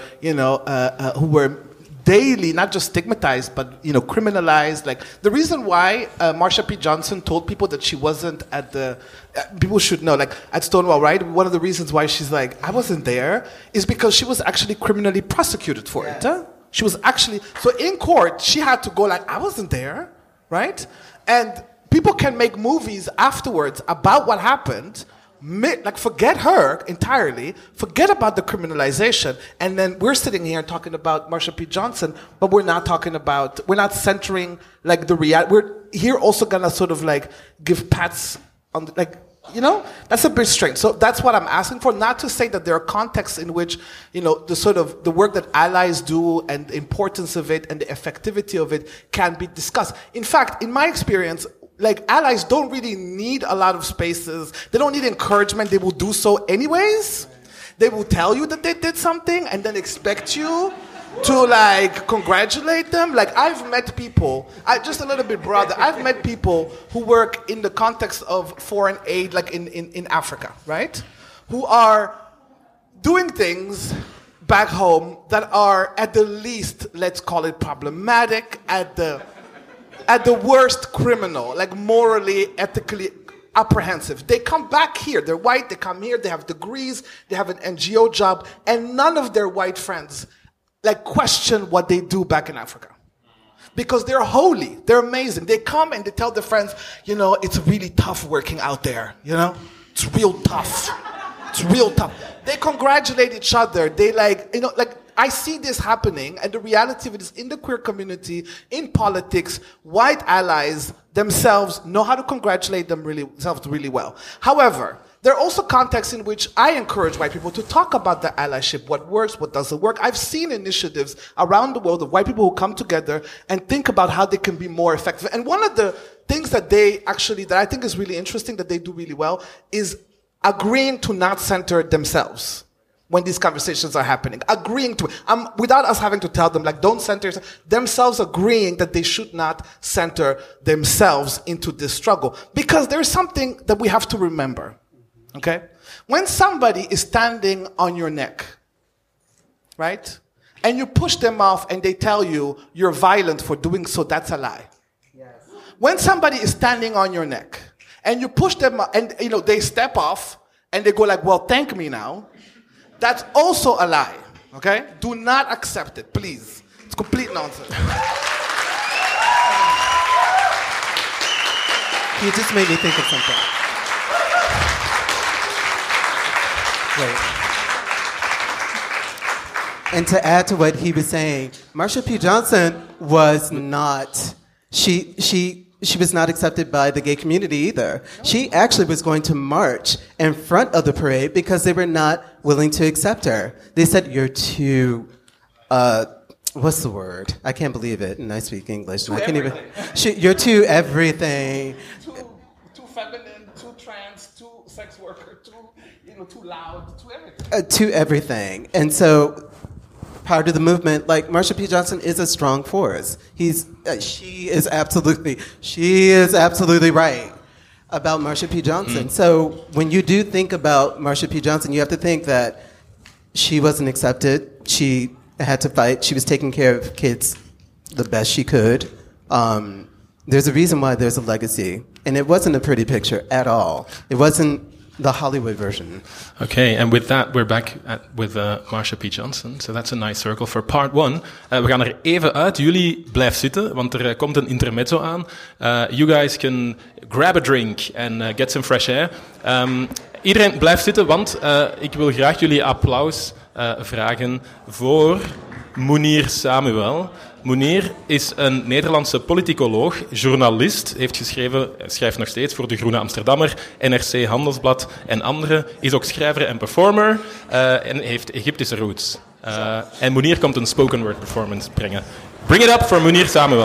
who were daily, not just stigmatized, but criminalized. Like the reason why Marsha P. Johnson told people that she wasn't at the, people should know, like at Stonewall, right? One of the reasons why she's like, I wasn't there, is because she was actually criminally prosecuted for it. Huh? She was actually, so in court, she had to go like, I wasn't there, right? And people can make movies afterwards about what happened. Like forget her entirely, forget about the criminalization, and then we're sitting here talking about Marsha P. Johnson, but we're not centering like the reality. We're here also gonna sort of like give pats on the, like, that's a bit strange. So that's what I'm asking for, not to say that there are contexts in which, the work that allies do and the importance of it and the effectivity of it can be discussed. In fact, in my experience, like allies don't really need a lot of spaces. They don't need encouragement. They will do so anyways. They will tell you that they did something and then expect you to like congratulate them. Like I've met people, just a little bit broader, I've met people who work in the context of foreign aid, like in Africa, right? Who are doing things back home that are at the least, let's call it problematic, at the worst criminal, like morally, ethically apprehensive. They come back here, they're white, they come here, they have degrees, they have an NGO job, and none of their white friends like question what they do back in Africa. Because they're holy, they're amazing. They come and they tell their friends, it's really tough working out there, It's real tough. It's real tough. They congratulate each other. They I see this happening, and the reality of it is in the queer community, in politics, white allies themselves know how to congratulate themselves really well. However, there are also contexts in which I encourage white people to talk about the allyship, what works, what doesn't work. I've seen initiatives around the world of white people who come together and think about how they can be more effective. And one of the things that I think is really interesting that they do really well is agreeing to not center themselves when these conversations are happening. Agreeing to it. Without us having to tell them, like, don't center themselves, agreeing that they should not center themselves into this struggle. Because there's something that we have to remember. Okay? When somebody is standing on your neck, right? And you push them off and they tell you you're violent for doing so, that's a lie. Yes. When somebody is standing on your neck and you push them and they step off and they go like, well, thank me now, that's also a lie. Okay? Do not accept it, please. It's complete nonsense. You just made me think of something. Wait. And to add to what he was saying, Marsha P. Johnson was not, she was not accepted by the gay community either. She actually was going to march in front of the parade because they were not willing to accept her. They said, you're too, what's the word? I can't believe it, and I speak English. And I can't even. You're too everything. Too feminine, too trans, too sex worker, too loud, too everything. To everything. And so part of the movement, like Marsha P. Johnson is a strong force. She is absolutely right about Marsha P. Johnson. So when you do think about Marsha P. Johnson, you have to think that she wasn't accepted. She had to fight. She was taking care of kids the best she could. There's a reason why there's a legacy. And it wasn't a pretty picture at all. It wasn't the Hollywood version. Okay, and with that, we're back with Marsha P. Johnson. So that's a nice circle for part one. We gaan er even uit. Jullie blijf zitten, want er komt een intermezzo aan. You guys can grab a drink and get some fresh air. Iedereen blijft zitten, want ik wil graag jullie applaus vragen voor Mounir Samuel. Mounir is een Nederlandse politicoloog, journalist, heeft geschreven, schrijft nog steeds voor De Groene Amsterdammer, NRC Handelsblad en andere, is ook schrijver en performer en heeft Egyptische roots. En Mounir komt een spoken word performance brengen. Bring it up for Mounir Samuel.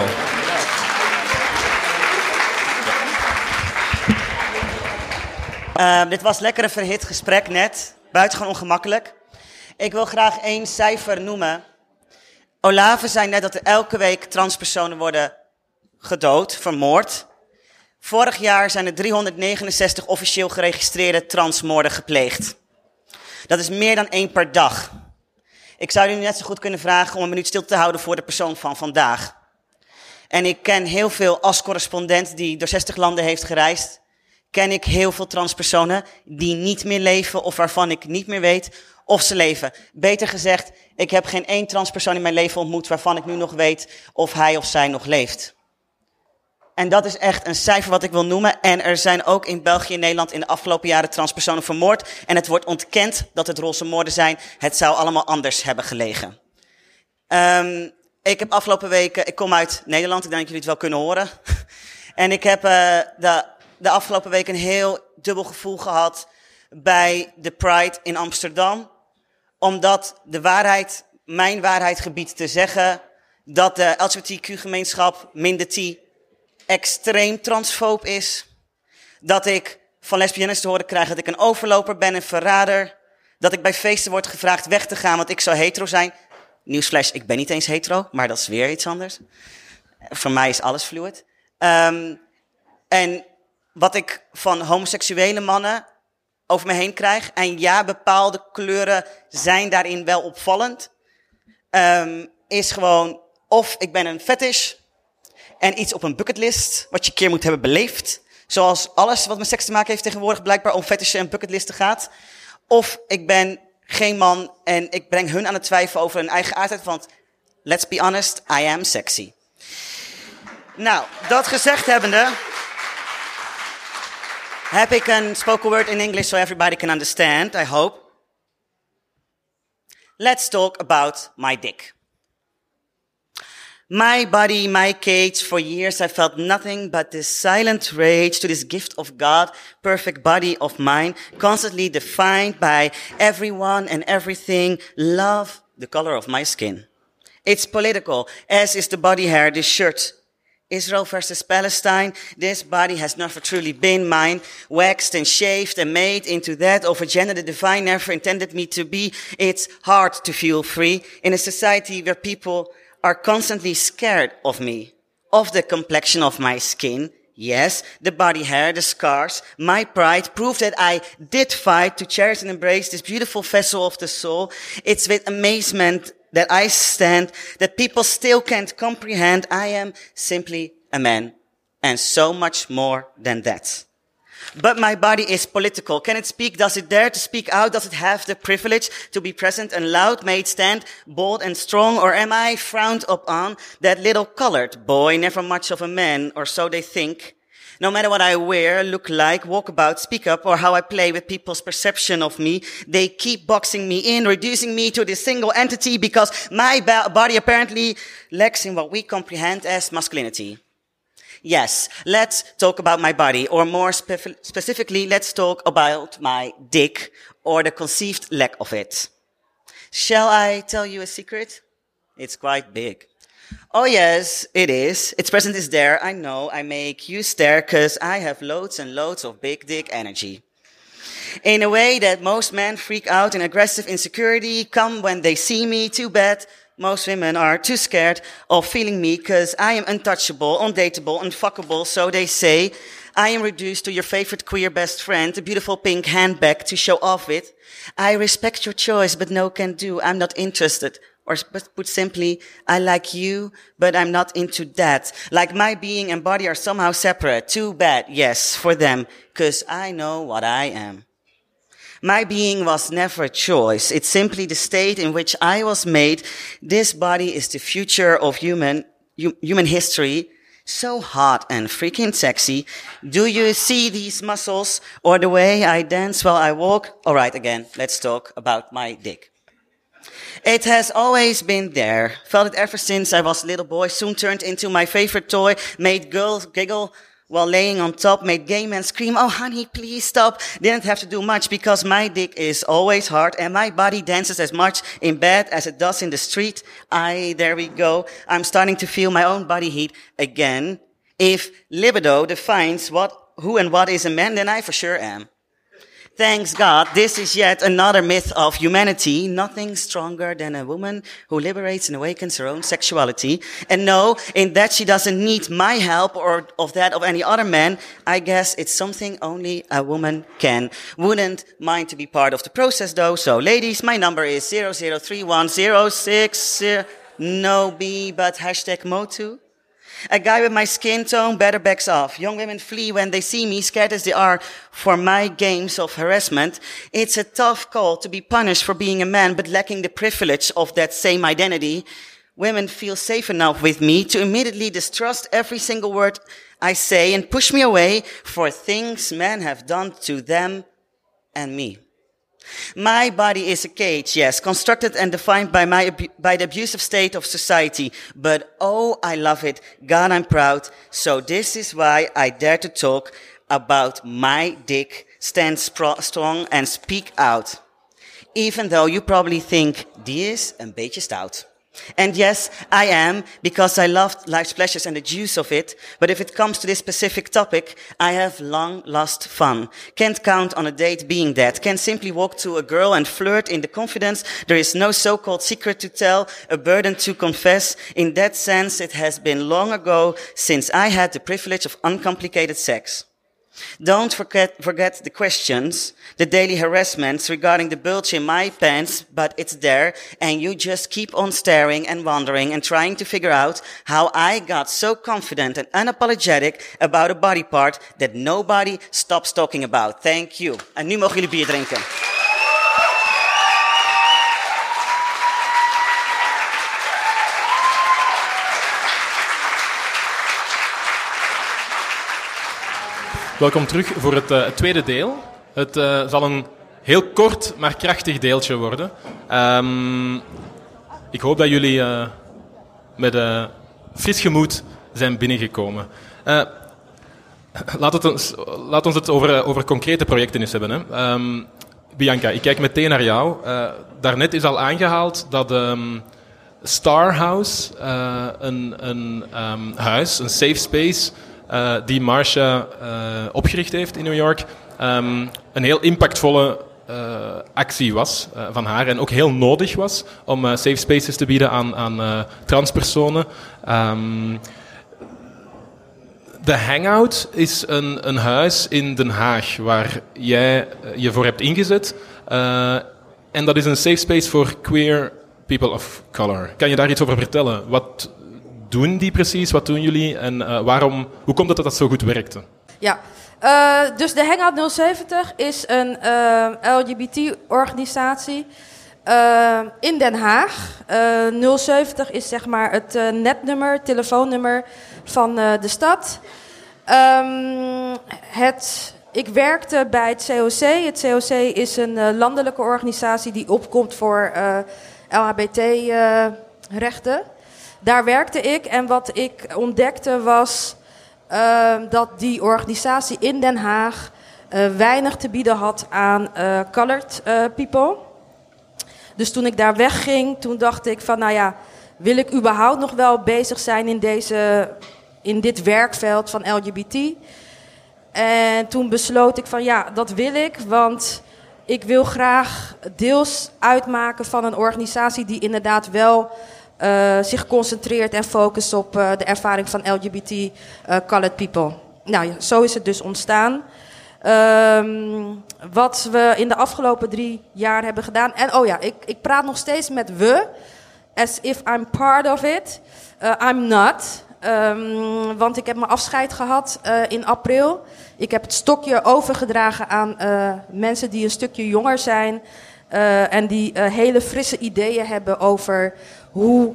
Dit was lekker een verhit gesprek net. Buitengewoon ongemakkelijk. Ik wil graag 1 cijfer noemen. Olave zei net dat er elke week transpersonen worden gedood, vermoord. Vorig jaar zijn er 369 officieel geregistreerde transmoorden gepleegd. Dat is meer dan 1 per dag. Ik zou jullie net zo goed kunnen vragen om een minuut stil te houden voor de persoon van vandaag. En ik ken heel veel als correspondent die door 60 landen heeft gereisd. Ken ik heel veel transpersonen die niet meer leven of waarvan ik niet meer weet of ze leven. Beter gezegd, ik heb geen 1 transpersoon in mijn leven ontmoet waarvan ik nu nog weet of hij of zij nog leeft. En dat is echt een cijfer wat ik wil noemen. En er zijn ook in België en Nederland in de afgelopen jaren transpersonen vermoord. En het wordt ontkend dat het roze moorden zijn. Het zou allemaal anders hebben gelegen. Ik heb afgelopen weken, ik kom uit Nederland, ik denk dat jullie het wel kunnen horen. En ik heb de afgelopen week een heel dubbel gevoel gehad bij de Pride in Amsterdam. Omdat de waarheid, mijn waarheid gebiedt te zeggen, dat de LGBTQ-gemeenschap, minder T, extreem transfoob is. Dat ik van lesbiennes te horen krijg dat ik een overloper ben, een verrader. Dat ik bij feesten word gevraagd weg te gaan, want ik zou hetero zijn. Nieuwsflash, ik ben niet eens hetero, maar dat is weer iets anders. Voor mij is alles fluid. En wat ik van homoseksuele mannen over me heen krijg, en ja, bepaalde kleuren zijn daarin wel opvallend, is gewoon of ik ben een fetish en iets op een bucketlist wat je een keer moet hebben beleefd. Zoals alles wat met seks te maken heeft tegenwoordig blijkbaar om fetishen en bucketlisten gaat. Of ik ben geen man en ik breng hun aan het twijfelen over hun eigen aardheid, want let's be honest, I am sexy. Nou, dat gezegd hebbende, heb ik een spoken word in English so everybody can understand, I hope. Let's talk about my dick. My body, my cage, for years I felt nothing but this silent rage to this gift of God, perfect body of mine, constantly defined by everyone and everything, love, the color of my skin. It's political, as is the body hair, this shirt. Israel versus Palestine, this body has never truly been mine, waxed and shaved and made into that of a gender the divine never intended me to be. It's hard to feel free in a society where people are constantly scared of me, of the complexion of my skin. Yes, the body hair, the scars, my pride prove that I did fight to cherish and embrace this beautiful vessel of the soul. It's with amazement that I stand, that people still can't comprehend. I am simply a man, and so much more than that. But my body is political. Can it speak? Does it dare to speak out? Does it have the privilege to be present and loud? May it stand bold and strong? Or am I frowned upon, that little colored boy, never much of a man, or so they think? No matter what I wear, look like, walk about, speak up, or how I play with people's perception of me, they keep boxing me in, reducing me to this single entity because my body apparently lacks in what we comprehend as masculinity. Yes, let's talk about my body, or more specifically, let's talk about my dick, or the conceived lack of it. Shall I tell you a secret? It's quite big. Oh yes, it is. Its presence is there. I know. I make you stare because I have loads and loads of big dick energy. In a way that most men freak out in aggressive insecurity, come when they see me, too bad. Most women are too scared of feeling me because I am untouchable, undateable, unfuckable, so they say. I am reduced to your favorite queer best friend, a beautiful pink handbag to show off with. I respect your choice, but no can do. I'm not interested. Or put simply, I like you, but I'm not into that. Like my being and body are somehow separate. Too bad, yes, for them, because I know what I am. My being was never a choice. It's simply the state in which I was made. This body is the future of human history. So hot and freaking sexy. Do you see these muscles or the way I dance while I walk? All right, again, let's talk about my dick. It has always been there. Felt it ever since I was a little boy. Soon turned into my favorite toy. Made girls giggle while laying on top. Made gay men scream, oh honey, please stop. Didn't have to do much because my dick is always hard. And my body dances as much in bed as it does in the street. There we go. I'm starting to feel my own body heat again. If libido defines who and what is a man, then I for sure am. Thanks God, this is yet another myth of humanity. Nothing stronger than a woman who liberates and awakens her own sexuality. And no, in that she doesn't need my help or of that of any other man. I guess it's something only a woman can. Wouldn't mind to be part of the process though. So ladies, my number is 003106. No B, but #Motu. A guy with my skin tone better backs off. Young women flee when they see me, scared as they are for my games of harassment. It's a tough call to be punished for being a man, but lacking the privilege of that same identity. Women feel safe enough with me to immediately distrust every single word I say and push me away for things men have done to them and me. My body is a cage, yes, constructed and defined by the abusive state of society. But oh, I love it. God, I'm proud. So this is why I dare to talk about my dick, stand strong and speak out. Even though you probably think, die is een beetje stout. And yes, I am, because I love life's pleasures and the juice of it. But if it comes to this specific topic, I have long lost fun. Can't count on a date being that. Can simply walk to a girl and flirt in the confidence. There is no so-called secret to tell, a burden to confess. In that sense, it has been long ago since I had the privilege of uncomplicated sex. Don't forget the questions, the daily harassments regarding the bulge in my pants, but it's there, and you just keep on staring and wondering and trying to figure out how I got so confident and unapologetic about a body part that nobody stops talking about. Thank you. En nu mogen jullie bier drinken. Welkom terug voor het tweede deel. Het zal een heel kort, maar krachtig deeltje worden. Ik hoop dat jullie met fris gemoed zijn binnengekomen. Laat ons het over concrete projecten eens hebben. Hè. Bianca, ik kijk meteen naar jou. Daarnet is al aangehaald dat Star House, een huis, een safe space, die Marsha opgericht heeft in New York, een heel impactvolle actie was van haar en ook heel nodig was om safe spaces te bieden aan transpersonen. De Hangout is een huis in Den Haag waar jij je voor hebt ingezet. En dat is een safe space voor queer people of color. Kan je daar iets over vertellen? Wat doen die precies? Wat doen jullie? En hoe komt het dat zo goed werkte? Ja, dus de Hangout 070 is een LGBT-organisatie in Den Haag. 070 is zeg maar het netnummer, telefoonnummer van de stad. Ik werkte bij het COC. Het COC is een landelijke organisatie die opkomt voor LHBT-rechten. Daar werkte ik en wat ik ontdekte was dat die organisatie in Den Haag weinig te bieden had aan colored people. Dus toen ik daar wegging, toen dacht ik van, nou ja, wil ik überhaupt nog wel bezig zijn in dit werkveld van LGBT? En toen besloot ik van, ja, dat wil ik, want ik wil graag deels uitmaken van een organisatie die inderdaad wel zich concentreert en focust op de ervaring van LGBT colored people. Nou ja, zo is het dus ontstaan. Wat we in de afgelopen 3 jaar hebben gedaan. En oh ja, ik praat nog steeds met we. As if I'm part of it. I'm not. Want ik heb mijn afscheid gehad in april. Ik heb het stokje overgedragen aan mensen die een stukje jonger zijn. En die hele frisse ideeën hebben over hoe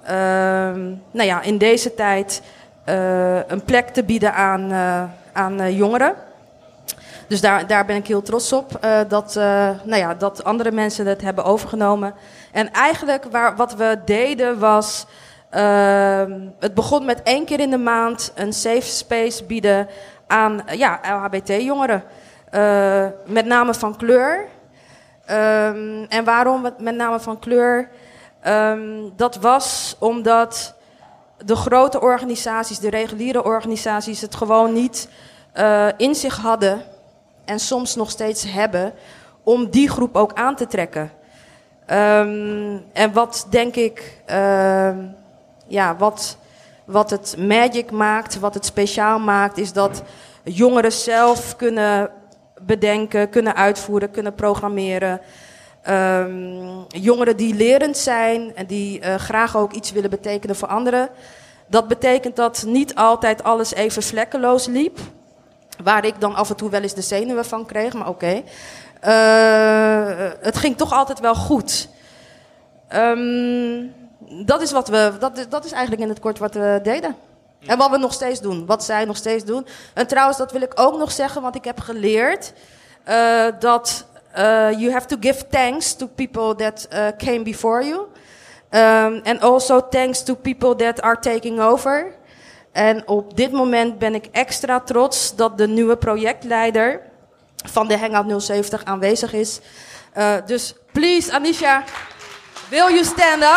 in deze tijd een plek te bieden aan jongeren. Dus daar ben ik heel trots op. Dat andere mensen het hebben overgenomen. En eigenlijk wat we deden was... het begon met 1 keer in de maand een safe space bieden aan LHBT-jongeren. Met name van kleur. En waarom met name van kleur? Dat was omdat de grote organisaties, de reguliere organisaties, het gewoon niet in zich hadden en soms nog steeds hebben om die groep ook aan te trekken. En wat denk ik, wat het magic maakt, wat het speciaal maakt, is dat jongeren zelf kunnen bedenken, kunnen uitvoeren, kunnen programmeren. Jongeren die lerend zijn en die graag ook iets willen betekenen voor anderen. Dat betekent dat niet altijd alles even vlekkeloos liep. Waar ik dan af en toe wel eens de zenuwen van kreeg, maar oké. Het ging toch altijd wel goed. Dat is eigenlijk in het kort wat we deden. En wat we nog steeds doen. Wat zij nog steeds doen. En trouwens, dat wil ik ook nog zeggen, want ik heb geleerd dat you have to give thanks to people that came before you. And also thanks to people that are taking over. En op dit moment ben ik extra trots dat de nieuwe projectleider van de Hangout 070 aanwezig is. Dus please, Anisha, will you stand up?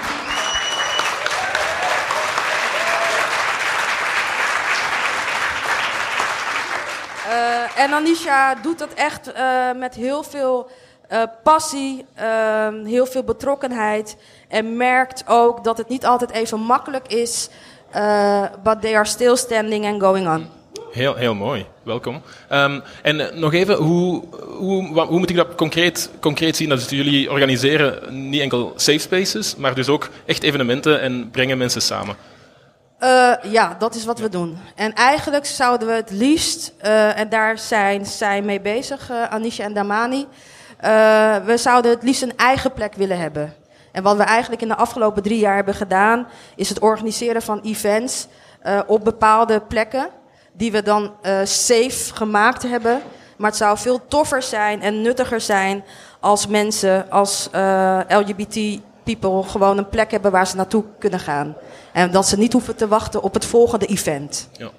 En Anisha doet dat echt met heel veel passie, heel veel betrokkenheid. En merkt ook dat het niet altijd even makkelijk is. But they are still standing and going on. Heel mooi. Welkom. En nog even, hoe moet ik dat concreet zien? Dat jullie organiseren niet enkel safe spaces, maar dus ook echt evenementen en brengen mensen samen. Ja, dat is wat we doen. En eigenlijk zouden we het liefst, en daar zijn zij mee bezig, Anisha en Damani. We zouden het liefst een eigen plek willen hebben. En wat we eigenlijk in de afgelopen 3 jaar hebben gedaan, is het organiseren van events op bepaalde plekken, die we dan safe gemaakt hebben. Maar het zou veel toffer zijn en nuttiger zijn als mensen, als LGBT people gewoon een plek hebben waar ze naartoe kunnen gaan. En dat ze niet hoeven te wachten op het volgende event. Ja.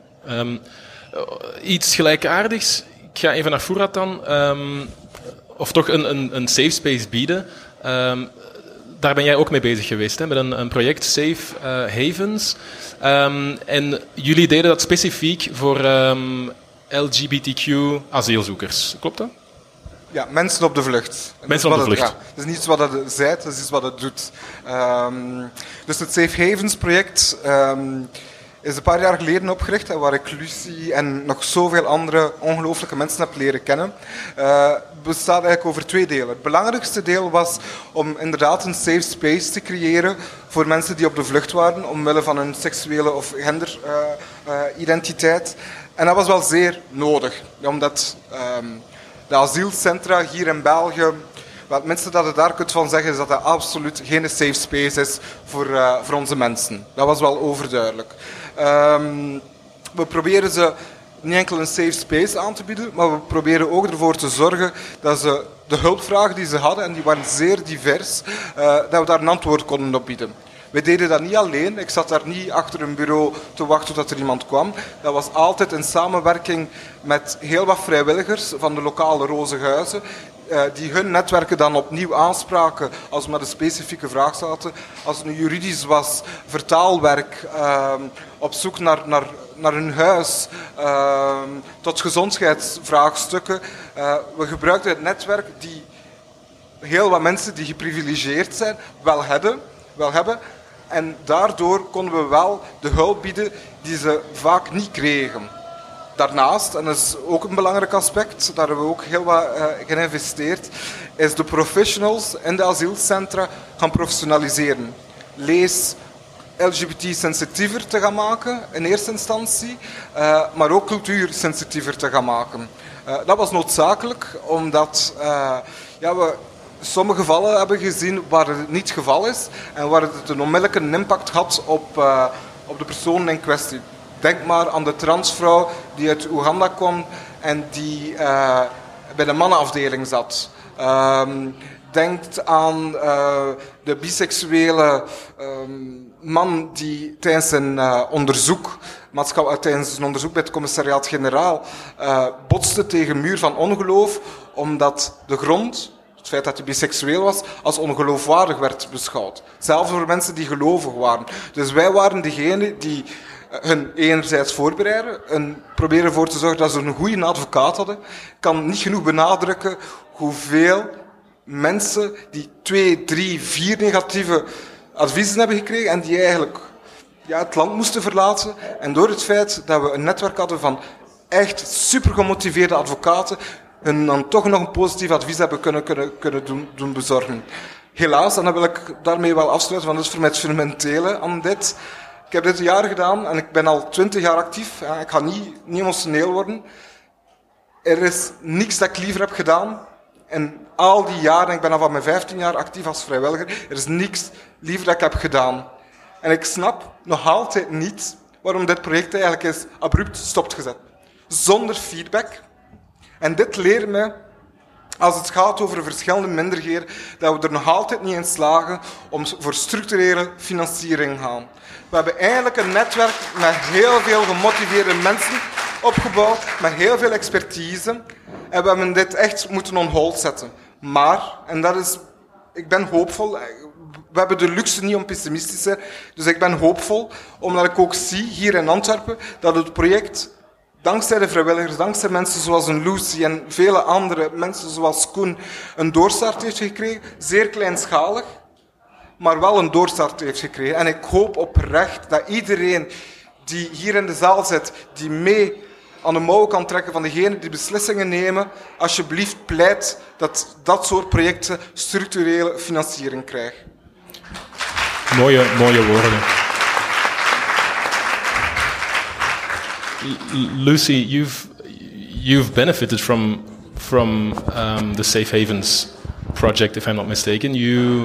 Iets gelijkaardigs. Ik ga even naar Fouad dan. Of toch een safe space bieden. Daar ben jij ook mee bezig geweest, hè? Met een project Safe Havens. En jullie deden dat specifiek voor LGBTQ asielzoekers. Klopt dat? Ja, mensen op de vlucht. Mensen op de vlucht. Het is niet iets wat het zijt, het is iets wat het doet. Dus het Safe Havens project is een paar jaar geleden opgericht, waar ik Lucie en nog zoveel andere ongelooflijke mensen heb leren kennen. Bestaat eigenlijk over 2 delen. Het belangrijkste deel was om inderdaad een safe space te creëren voor mensen die op de vlucht waren, omwille van hun seksuele of genderidentiteit. En dat was wel zeer nodig, omdat de asielcentra hier in België, het minste dat je daar kunt van zeggen, is dat dat absoluut geen safe space is voor onze mensen. Dat was wel overduidelijk. We proberen ze niet enkel een safe space aan te bieden, maar we proberen ook ervoor te zorgen dat ze de hulpvragen die ze hadden, en die waren zeer divers, dat we daar een antwoord konden op bieden. We deden dat niet alleen. Ik zat daar niet achter een bureau te wachten tot er iemand kwam. Dat was altijd in samenwerking met heel wat vrijwilligers van de lokale Rozenhuizen, die hun netwerken dan opnieuw aanspraken als we met een specifieke vraag zaten. Als het nu juridisch was, vertaalwerk, op zoek naar hun huis, tot gezondheidsvraagstukken. We gebruikten het netwerk die heel wat mensen die geprivilegeerd zijn wel hebben. En daardoor konden we wel de hulp bieden die ze vaak niet kregen. Daarnaast, en dat is ook een belangrijk aspect, daar hebben we ook heel wat geïnvesteerd, is de professionals in de asielcentra gaan professionaliseren. Lees LGBT-sensitiever te gaan maken in eerste instantie, maar ook cultuursensitiever te gaan maken. Dat was noodzakelijk, omdat we sommige gevallen hebben gezien waar het niet het geval is en waar het een onmiddellijke impact had op de persoon in kwestie. Denk maar aan de transvrouw die uit Oeganda kwam en die bij de mannenafdeling zat. Denk aan de biseksuele man die tijdens een onderzoek bij het commissariaat-generaal botste tegen een muur van ongeloof, omdat de grond, het feit dat hij biseksueel was, als ongeloofwaardig werd beschouwd. Zelfs voor mensen die gelovig waren. Dus wij waren degene die hun enerzijds voorbereiden en proberen ervoor te zorgen dat ze een goede advocaat hadden. Ik kan niet genoeg benadrukken hoeveel mensen die 2, 3, 4 negatieve adviezen hebben gekregen en die eigenlijk het land moesten verlaten. En door het feit dat we een netwerk hadden van echt super gemotiveerde advocaten, hun dan toch nog een positief advies hebben kunnen doen bezorgen. Helaas, en dan wil ik daarmee wel afsluiten, want dat is voor mij het fundamentele aan dit. Ik heb dit een jaar gedaan en ik ben al 20 jaar actief. Ik ga niet emotioneel worden. Er is niks dat ik liever heb gedaan. En al die jaren, ik ben al van mijn 15 jaar actief als vrijwilliger, er is niks liever dat ik heb gedaan. En ik snap nog altijd niet waarom dit project eigenlijk is abrupt stopgezet. Zonder feedback. En dit leert me, als het gaat over verschillende minderheden, dat we er nog altijd niet in slagen om voor structurele financiering te gaan. We hebben eigenlijk een netwerk met heel veel gemotiveerde mensen opgebouwd, met heel veel expertise. En we hebben dit echt moeten on hold zetten. Maar, en dat is, ik ben hoopvol. We hebben de luxe niet om pessimistisch te zijn. Dus ik ben hoopvol, omdat ik ook zie hier in Antwerpen dat het project, dankzij de vrijwilligers, dankzij mensen zoals een Lucy en vele andere mensen zoals Koen, een doorstart heeft gekregen. Zeer kleinschalig, maar wel een doorstart heeft gekregen. En ik hoop oprecht dat iedereen die hier in de zaal zit, die mee aan de mouw kan trekken van degenen die beslissingen nemen, alsjeblieft pleit dat dat soort projecten structurele financiering krijgen. Mooie woorden. Lucy, you've benefited from the Safe Havens project, if I'm not mistaken. You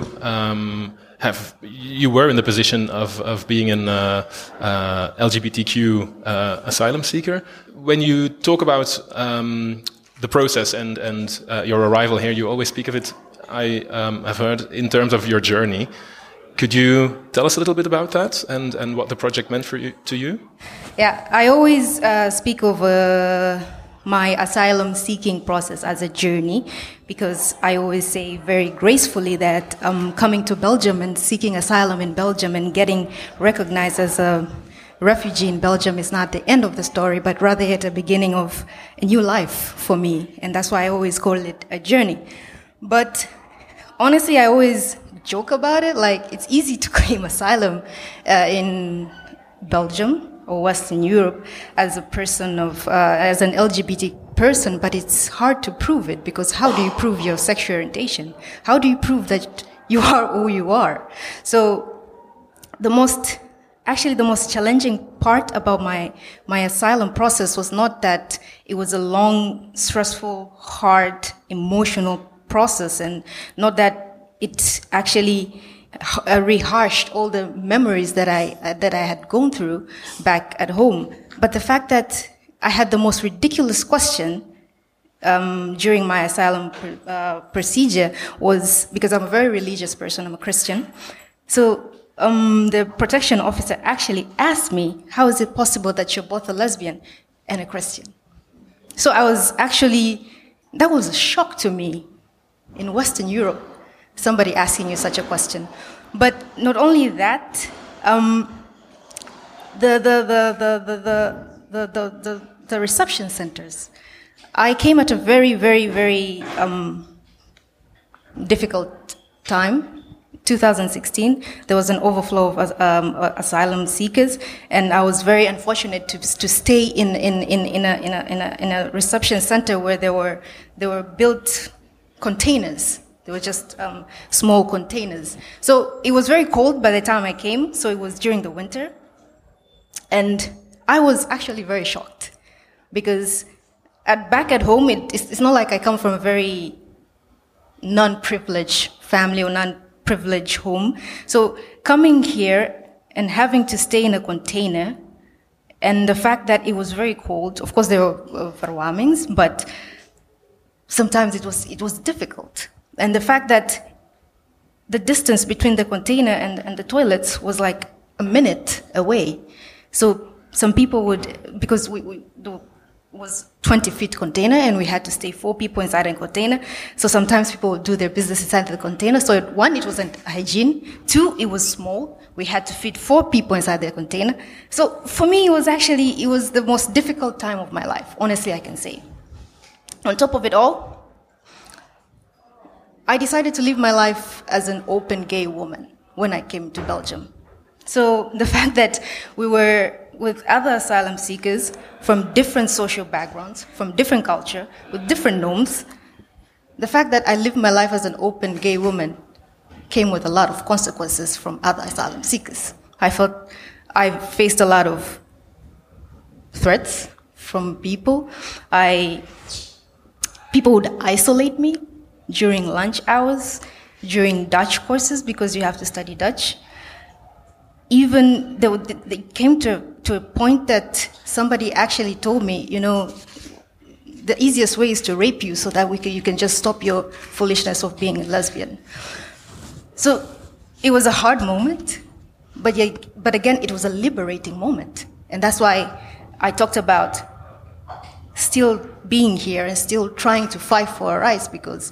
were in the position of being an LGBTQ asylum seeker. When you talk about the process and your arrival here, you always speak of it, I have heard, in terms of your journey. Could you tell us a little bit about that and what the project meant to you? Yeah, I always speak of my asylum seeking process as a journey, because I always say very gracefully that coming to Belgium and seeking asylum in Belgium and getting recognized as a refugee in Belgium is not the end of the story, but rather at the beginning of a new life for me. And that's why I always call it a journey. But honestly, I always joke about it. Like, it's easy to claim asylum in Belgium or Western Europe as a person of, as an LGBT person, but it's hard to prove it, because how do you prove your sexual orientation? How do you prove that you are who you are? So the most challenging part about my asylum process was not that it was a long, stressful, hard, emotional process, and not that it actually rehashed all the memories that I had gone through back at home. But the fact that I had the most ridiculous question during my asylum procedure was, because I'm a very religious person, I'm a Christian. So the protection officer actually asked me, how is it possible that you're both a lesbian and a Christian? So that was a shock to me in Western Europe, somebody asking you such a question. But not only that, the reception centers. I came at a very, very, very difficult time. 2016, there was an overflow of asylum seekers, and I was very unfortunate to stay in a reception center where there were built containers. They were just small containers. So it was very cold by the time I came, so it was during the winter. And I was actually very shocked, because back at home, it's not like I come from a very non-privileged family or non-privileged home. So coming here and having to stay in a container, and the fact that it was very cold, of course there were verwarmings, but sometimes it was difficult. And the fact that the distance between the container and the toilets was like a minute away. So some people would, because was 20 feet container, and we had to stay 4 people inside a container. So sometimes people would do their business inside the container. So one, it wasn't hygiene. 2, it was small. We had to feed 4 people inside the container. So for me, it was the most difficult time of my life. Honestly, I can say. On top of it all, I decided to live my life as an open gay woman when I came to Belgium. So the fact that we were with other asylum seekers from different social backgrounds, from different culture, with different norms, the fact that I lived my life as an open gay woman came with a lot of consequences from other asylum seekers. I felt I faced a lot of threats from people. People would isolate me during lunch hours, during Dutch courses, because you have to study Dutch. Even they came to a point that somebody actually told me, the easiest way is to rape you so that you can just stop your foolishness of being a lesbian. So it was a hard moment, but again, it was a liberating moment. And that's why I talked about still being here and still trying to fight for our rights, because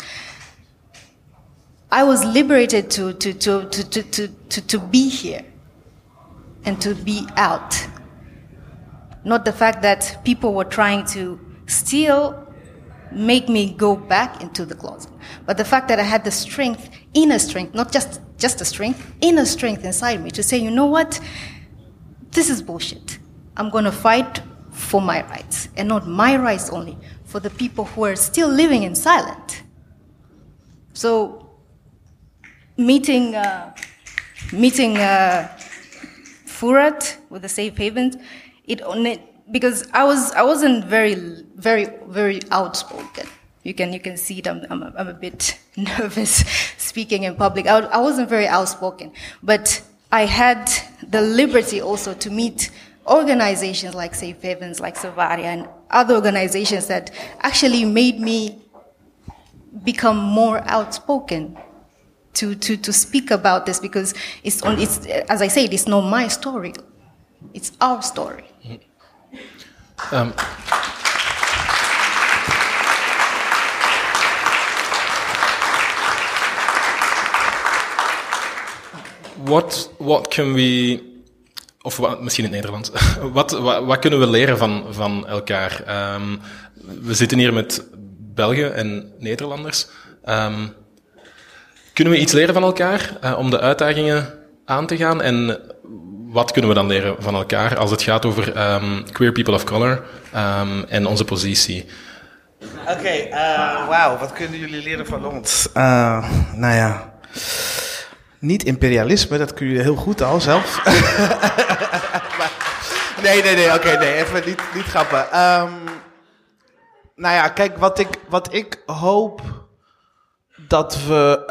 I was liberated to be here and to be out. Not the fact that people were trying to still make me go back into the closet, but the fact that I had the strength, inner strength, not just a strength, inner strength inside me to say, you know what, this is bullshit. I'm going to fight for my rights, and not my rights only, for the people who are still living in silence. So meeting Furat with the Safe Havens, because I wasn't very, very, very outspoken. You can see it. I'm a bit nervous speaking in public. I wasn't very outspoken, but I had the liberty also to meet organizations like Safe Havens, like Savaria, and other organizations that actually made me become more outspoken to speak about this, because it's as I said, it's not my story, it's our story. Wat can we, of misschien in het Nederlands, wat kunnen we leren van elkaar? We zitten hier met Belgen en Nederlanders. Kunnen we iets leren van elkaar om de uitdagingen aan te gaan? En wat kunnen we dan leren van elkaar als het gaat over queer people of color en onze positie? Oké, wauw, wat kunnen jullie leren van ons? Nou ja, niet imperialisme, dat kun je heel goed al zelf. Nee, even niet grappen. Nou ja, kijk, wat ik hoop dat we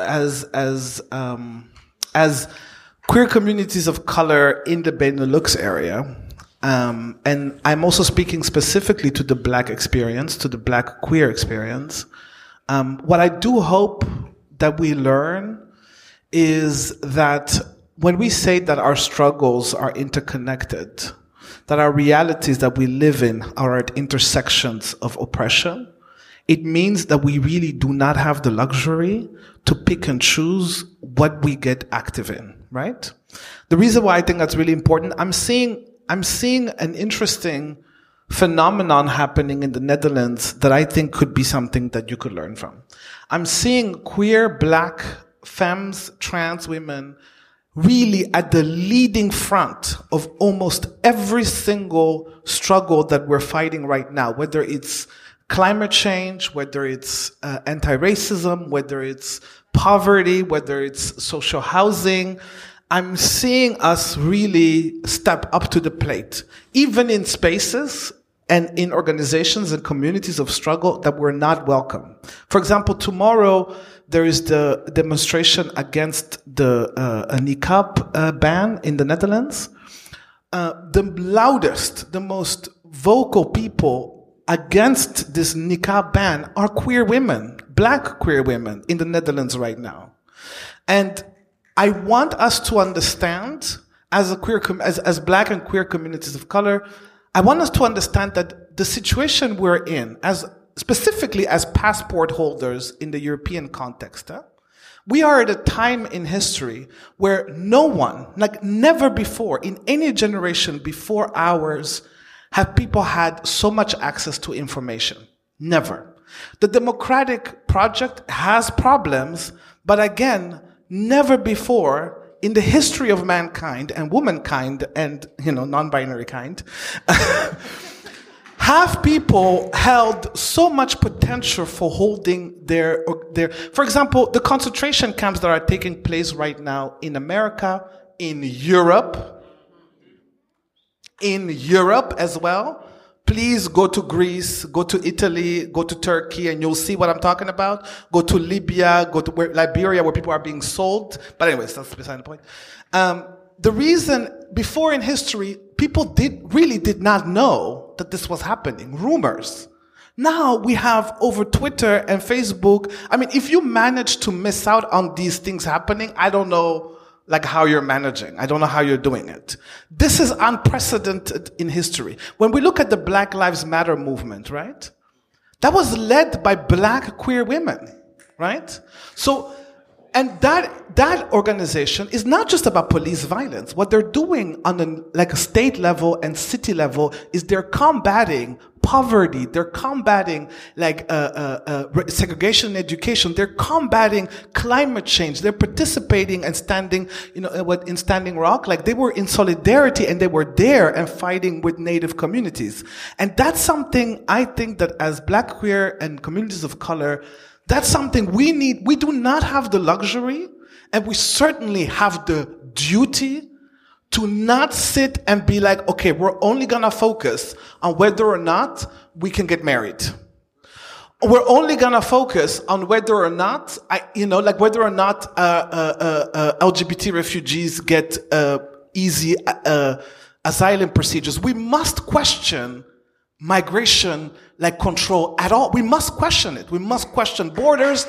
as queer communities of color in the Benelux area, and I'm also speaking specifically to the Black experience, to the Black queer experience, what I do hope that we learn is that when we say that our struggles are interconnected, that our realities that we live in are at intersections of oppression, it means that we really do not have the luxury to pick and choose what we get active in, right? The reason why I think that's really important, I'm seeing an interesting phenomenon happening in the Netherlands that I think could be something that you could learn from. I'm seeing queer, Black, femmes, trans women really at the leading front of almost every single struggle that we're fighting right now, whether it's climate change, whether it's anti-racism, whether it's poverty, whether it's social housing. I'm seeing us really step up to the plate, even in spaces and in organizations and communities of struggle that were not welcome. For example, tomorrow there is the demonstration against the niqab ban in the Netherlands. The loudest, the most vocal people against this niqab ban are queer women, Black queer women in the Netherlands right now. And I want us to understand, as Black and queer communities of color, I want us to understand that the situation we're in, specifically as passport holders in the European context, we are at a time in history where no one, like never before, in any generation before ours, have people had so much access to information. Never. The democratic project has problems, but again, never before in the history of mankind and womankind and, non-binary kind, have people held so much potential for holding their, for example, the concentration camps that are taking place right now in America, in Europe as well. Please go to Greece, go to Italy, go to Turkey, and you'll see what I'm talking about. Go to Libya, go to Liberia, where people are being sold. But anyways, that's beside the point. The reason, before in history, people really did not know that this was happening. Rumors. Now we have over Twitter and Facebook. I mean, if you manage to miss out on these things happening, I don't know how you're managing. I don't know how you're doing it. This is unprecedented in history. When we look at the Black Lives Matter movement, right? That was led by Black queer women, right? So, and that organization is not just about police violence. What they're doing on a state level and city level is they're combating poverty. They're combating segregation in education. They're combating climate change. They're participating and standing, in Standing Rock. They were in solidarity and they were there and fighting with Native communities. And that's something I think that as Black, queer, and communities of color, that's something we need. We do not have the luxury, and we certainly have the duty to not sit and be like, okay, we're only gonna focus on whether or not we can get married. We're only gonna focus on whether or not, whether or not LGBT refugees get easy asylum procedures. We must question migration control at all. We must question it. We must question borders.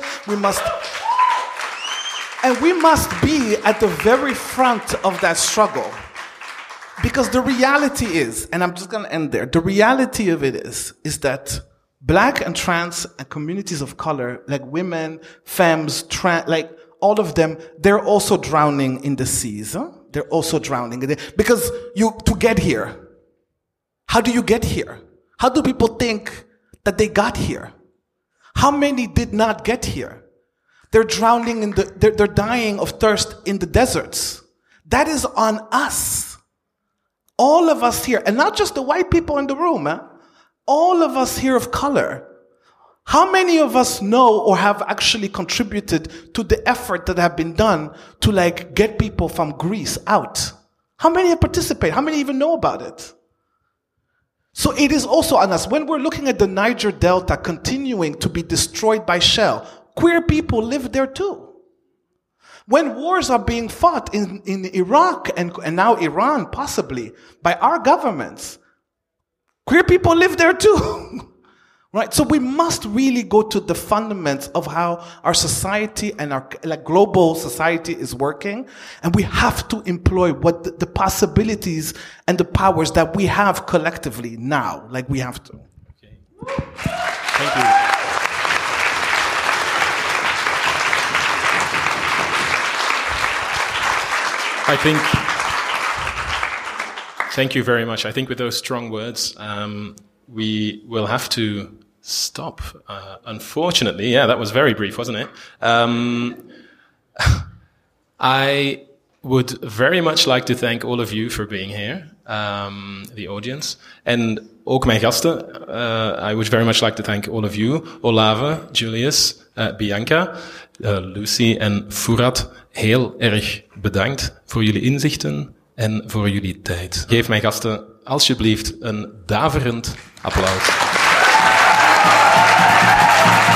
And we must be at the very front of that struggle. Because the reality is, and I'm just going to end there, the reality of it is that Black and trans and communities of color, women, femmes, all of them, they're also drowning in the seas. Huh? They're also drowning in it. Because to get here, how do you get here? How do people think that they got here? How many did not get here? They're drowning they're dying of thirst in the deserts. That is on us. All of us here, and not just the white people in the room, all of us here of color. How many of us know or have actually contributed to the effort that have been done to get people from Greece out? How many have participated? How many even know about it? So it is also on us. When we're looking at the Niger Delta continuing to be destroyed by Shell, queer people live there too. When wars are being fought in Iraq and now Iran, possibly, by our governments, queer people live there too. Right? So we must really go to the fundamentals of how our society and our global society is working. And we have to employ what the possibilities and the powers that we have collectively now. We have to. Okay. Thank you. Thank you very much. I think with those strong words, we will have to stop. Unfortunately, that was very brief, wasn't it? I would very much like to thank all of you for being here, the audience, and ook mijn gasten. I would very much like to thank all of you, Olave, Julius, Bianca, Lucy en Fouad. Heel erg bedankt voor jullie inzichten en voor jullie tijd. Geef mijn gasten alsjeblieft een daverend applaus.